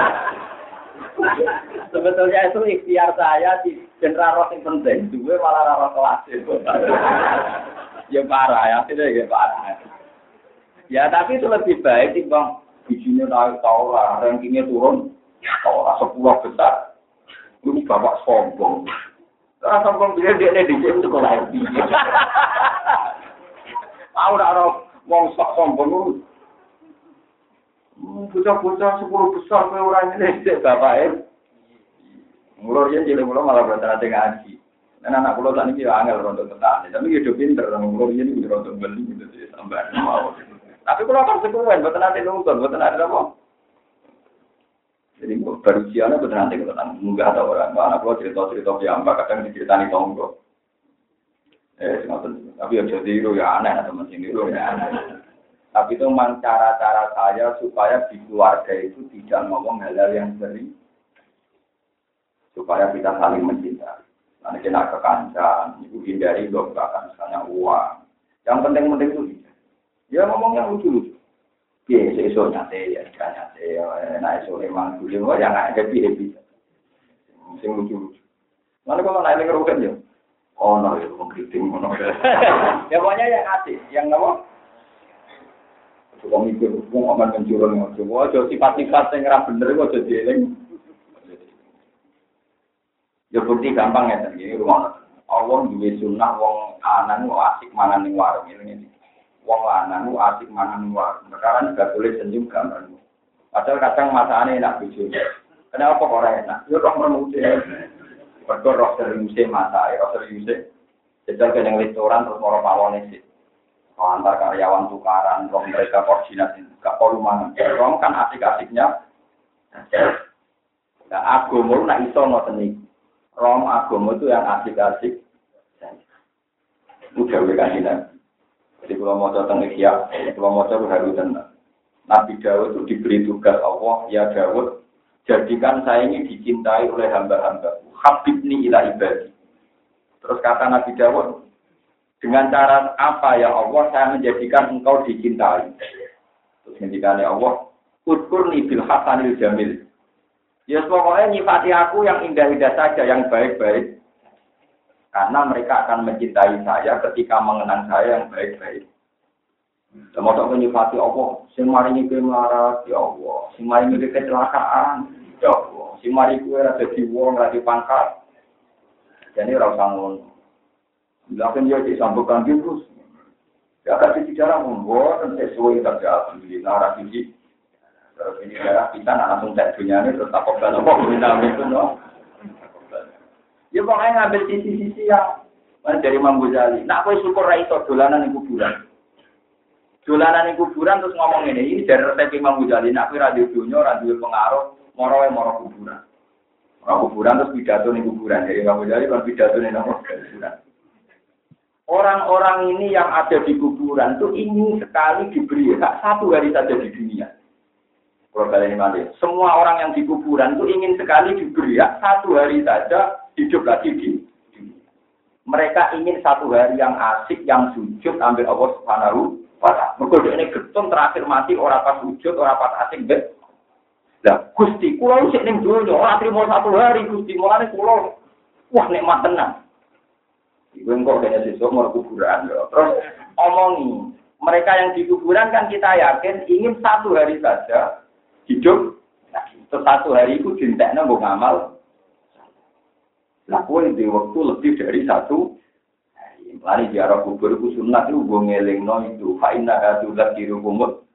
Sebetulnya itu ikhtiar saya di general roh yang penting, gue malah roh kelas itu. Ya parah ya, tidak ya parah. Ya tapi itu lebih baik sih bang, bijinya naik tahu lah, rankingnya turun, tahu lah sepuluh besar. Lu bapak sombong. Orang sombong dia dia di sini sekolah itu. Aku nak orang mau sok sombong lu. Bocah-bocah sepuluh besar ke orang ini dek bapak eh. Mulur dia jadi mulur malah berarti ngaji. Dan anak pulau tadi dia angel rontok petani, tapi dia hidup pinter. Mulur dia ini rontok beli gitu sih sampai mau. Tapi kalau kan sekuen, buat nanti nonton, buat nanti apa? Jadi baru siapa betul nanti kita tanya munggah atau orang anak pulau cerita-cerita biamba kadang diceritani tonggo. Eh, tapi ya jadi itu ya aneh teman sini itu ya aneh. Tapi itu memang cara-cara saya supaya di keluarga itu tidak ngomong hal-hal yang sering, supaya kita saling mencintai. Nanti kena kekancan, itu hindari dobrakan misalnya uang. Yang penting-penting itu tidak. Ya ngomong yang lucu-lucu. Ya, esok nyate, ya ikan nyate, ya nah esok emang dulu, ya nggak happy-happy. Sing lucu-lucu. Nanti kalau naik ngerukan ya, oh no, itu mengkriting, no. Ya pokoknya yang asik, yang apa? Coba mikir, hukum aman mencurang, coba aja sifat-sifat yang ngerah bener, kok jadi eleng. Ya bukti gampang ya, ini rumah Allah juga sunnah, wong anan, wong asik mangan ning warung ini. Wong lanang ku asik mangan luar. Sekarang juga boleh senyum gambar. Padahal kadang masane enak bojo. Kenapa kok ora enak? Yo kok menute. Padha roh serius masae, roh serius. Jajal ke yang restoran terus moro pawone sih. Kalau antar karyawan tukaran, roh mereka koordinasi, gak perlu mangan. Roh kan asik-asiknya. Nah, agama nak iso ngoten iki. Roh agama itu yang asik-asik. Udah wae kandidat. Jadi kalau mau datang Ikhya, kalau mau datang harus tenang. Nabi Daud itu diberi tugas Allah, ya Daud, jadikan saya ini dicintai oleh hamba-hamba. Habibni ila ibadi. Terus kata Nabi Daud, dengan cara apa ya Allah saya menjadikan engkau dicintai? Terus ngendikane Allah, Udkurni bil hasanil jamil. Ya pokoknya nyifati aku yang indah-indah saja, yang baik-baik. Karena mereka akan mencintai saya ketika mengenang saya yang baik-baik. Mau tak menyifati Allah, sing maringi kowe melarat, ya Allah. Sing maringi kowe kecelakaan, ya Allah. Sing maringi kowe ora dadi wong, ora dipangkat. Jadi ora usah ngono. Lakukan dia disambungkan terus. Ya kasih bicara membuat sesuai saja alhamdulillah ora siji. Terus ini darah kita langsung cek dunyane terus tak kok kalau minta itu no. Ya pokoknya ngambil sisi-sisi yang dari Imam Ghazali. Nak kowe syukur ra iso dolanan ning kuburan. Dolanan ning kuburan terus ngomong ngene, ini dari resep Imam Ghazali. Nak kowe ra duwe donya, ra duwe pengaruh, moro wae moro kuburan. Moro kuburan terus pidato ning kuburan. Dari Imam Ghazali kan pidato ning kuburan. Orang-orang ini yang ada di kuburan itu ingin sekali diberi hak satu hari saja di dunia. Kalau kalian ini semua orang yang di kuburan itu ingin sekali diberi hak satu hari saja hidup lagi di dunia. Mereka ingin satu hari yang asik, yang sujud, ambil Allah Subhanahu wa Ta'ala. Mereka ini getun terakhir mati, orang pas sujud, orang pas asik, bet. Nah, Gusti, kulau sik ning donya, ora trimo satu hari, Gusti, mulane kulau, wah nikmat tenan. Iku engko kene sesuk mau kuburan lho. Terus omongi, mereka yang di kuburan kan kita yakin ingin satu hari saja hidup. Nah, satu hari itu dintekno mbok ngamal. Lah kowe di waktu lebih dari satu hari. Mari ziarah kubur ku sunat itu mbok ngelingno itu fa inna atulat dirukumut.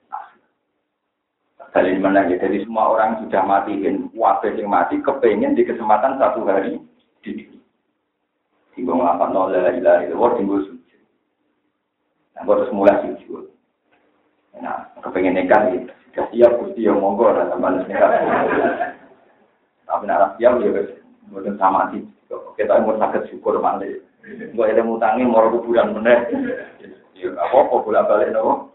Kalian mana ya, jadi semua orang sudah mati, kan wabah yang mati, kepengen di kesempatan satu hari di dunia. Tinggal ngelapan nol la ilaha illallah, tinggal sujud. Nah, harus mulai sujud. Nah, kepengen nikah gitu. Sudah siap, Gusti yang monggo, dan teman nikah. Tapi nak siap, ya betul sama sih. Kita mau sakit syukur mandi. Enggak ada mutangin, mau kuburan bener. Ya apa-apa bolak-balik nopo.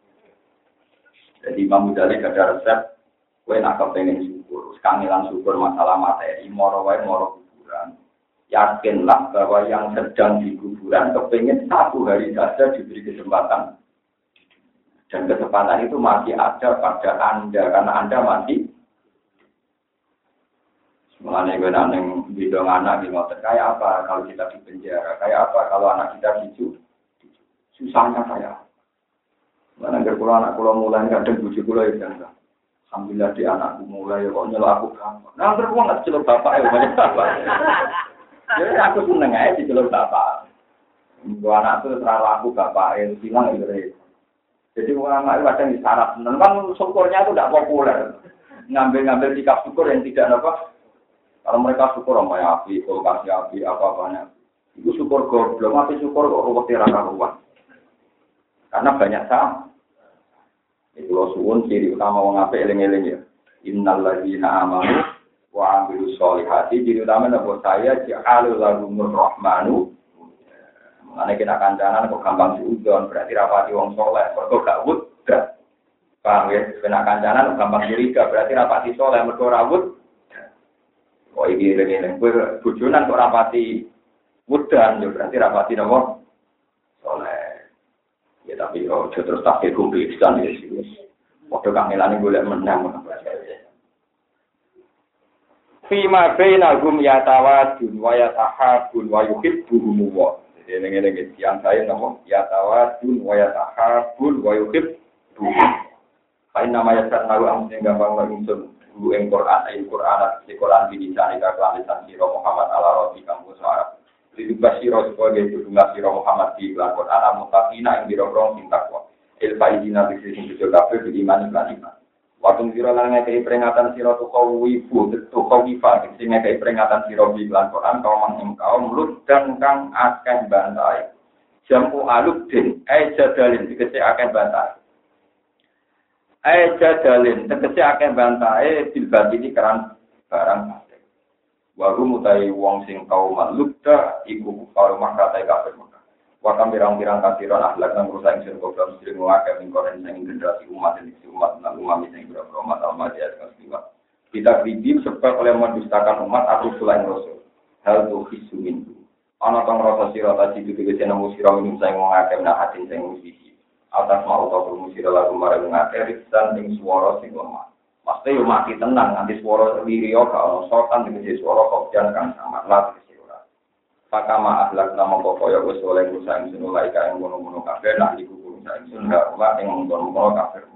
Jadi Imam Ghazali ada resep kowe nak kepengen syukur, kangelan syukur masalah materi, moro wae moro kuburan. Yakinlah bahwa yang sedang di kuburan kepengen satu hari saja diberi kesempatan. Dan kesempatan itu masih ada pada Anda karena Anda masih mulane gue nang bidang anak di motor kayak apa kalau kita di penjara, kayak apa kalau anak kita dicu, susahnya kayak. Mana nggak pulang anak pulang mulai nggak ada bujuk pulang ya kan? Alhamdulillah di anakku mulai kok nyelok aku kamu. Nah terus gua nggak celok bapak ya banyak bapak. Jadi aku seneng aja di celok bapak. Gua anak tuh terlalu aku bapak yang bilang itu. Jadi orang anak kadang disarap. Memang syukurnya itu tidak populer. Ngambil-ngambil sikap syukur yang tidak apa. Kalau mereka syukur sama api, kulkas api, apa-apanya. Itu syukur goblok, tapi syukur kok ruwet raka ruwet. Karena banyak sah. Itu lo suwun ciri utama wong apik eling-eling ya. Innal ladzina amanu wa 'amilus sholihati ciri utama napa saya ja'alul lahumur rahmanu. Mane kita kancanan kok gampang diudon berarti rapati wong saleh, mergo gak wudra. Paham ya? Kena kancanan kok gampang curiga berarti rapati saleh mergo ora wud. Oh iki ngene kowe bojonan kok rapati wudan yo berarti rapati napa? Saleh. Ya tapi oh terus tak kekumpisan ya sih. Waktu kangelane golek menang ngono. Fima bainahum yatawadun wa yatahabun wa yuhibbuhum wa. Jadi ngene-ngene yang saya namo yatawadun wa yatahabun wa yuhibbuhum. Kain nama ya sanaru amne gampang langsung guru ing Quran ayat Quran di Quran dinicani ka kelalisan sira Muhammad ala rabbi kamu suara. Jadi basiro sebagai judulnya sira Muhammad di Quran al-mutaqina ing biro-biro sing takwa. Il faizina bi sing judul kafir di iman lan iman. Waktu sira lan ngekei peringatan sira tu kawifu tu kawifa sing ngekei peringatan sira di Quran kaum ing kaum lut dan kang akeh bantai. Jamu aludin ai jadalin dikece akeh bantai. Ai jadalin tegese akeh bantahe dilbati iki keran barang pasti. Wa mutai wong sing kaum lukta iku karo makatai kafir maka. Wa kam pirang-pirang kafiran akhlak nang rusak sing kok mesti ngakeh ning koren sing generasi umat ini umat nang umat sing berapa umat almadi kasih. Kita kribim sebab oleh mendustakan umat aku selain rasul. Hal tu hisumin. Ana tong rasa sira ta ditu tegese nemu sira minum sing ngakeh nak hati sing musisi. Atas mau atau bermusir lagu marah mengakhiri dan ing suara sing lemah. Pasti yo mati tenang nanti suara lirio kalau sokan dengan suara kopian kan sama lah di suara. Pakama akhlak nama pokoknya wes oleh rusak yang sunulai kain gunung-gunung kafir nak dikubur rusak yang sundah ulah yang mengkonon kafir.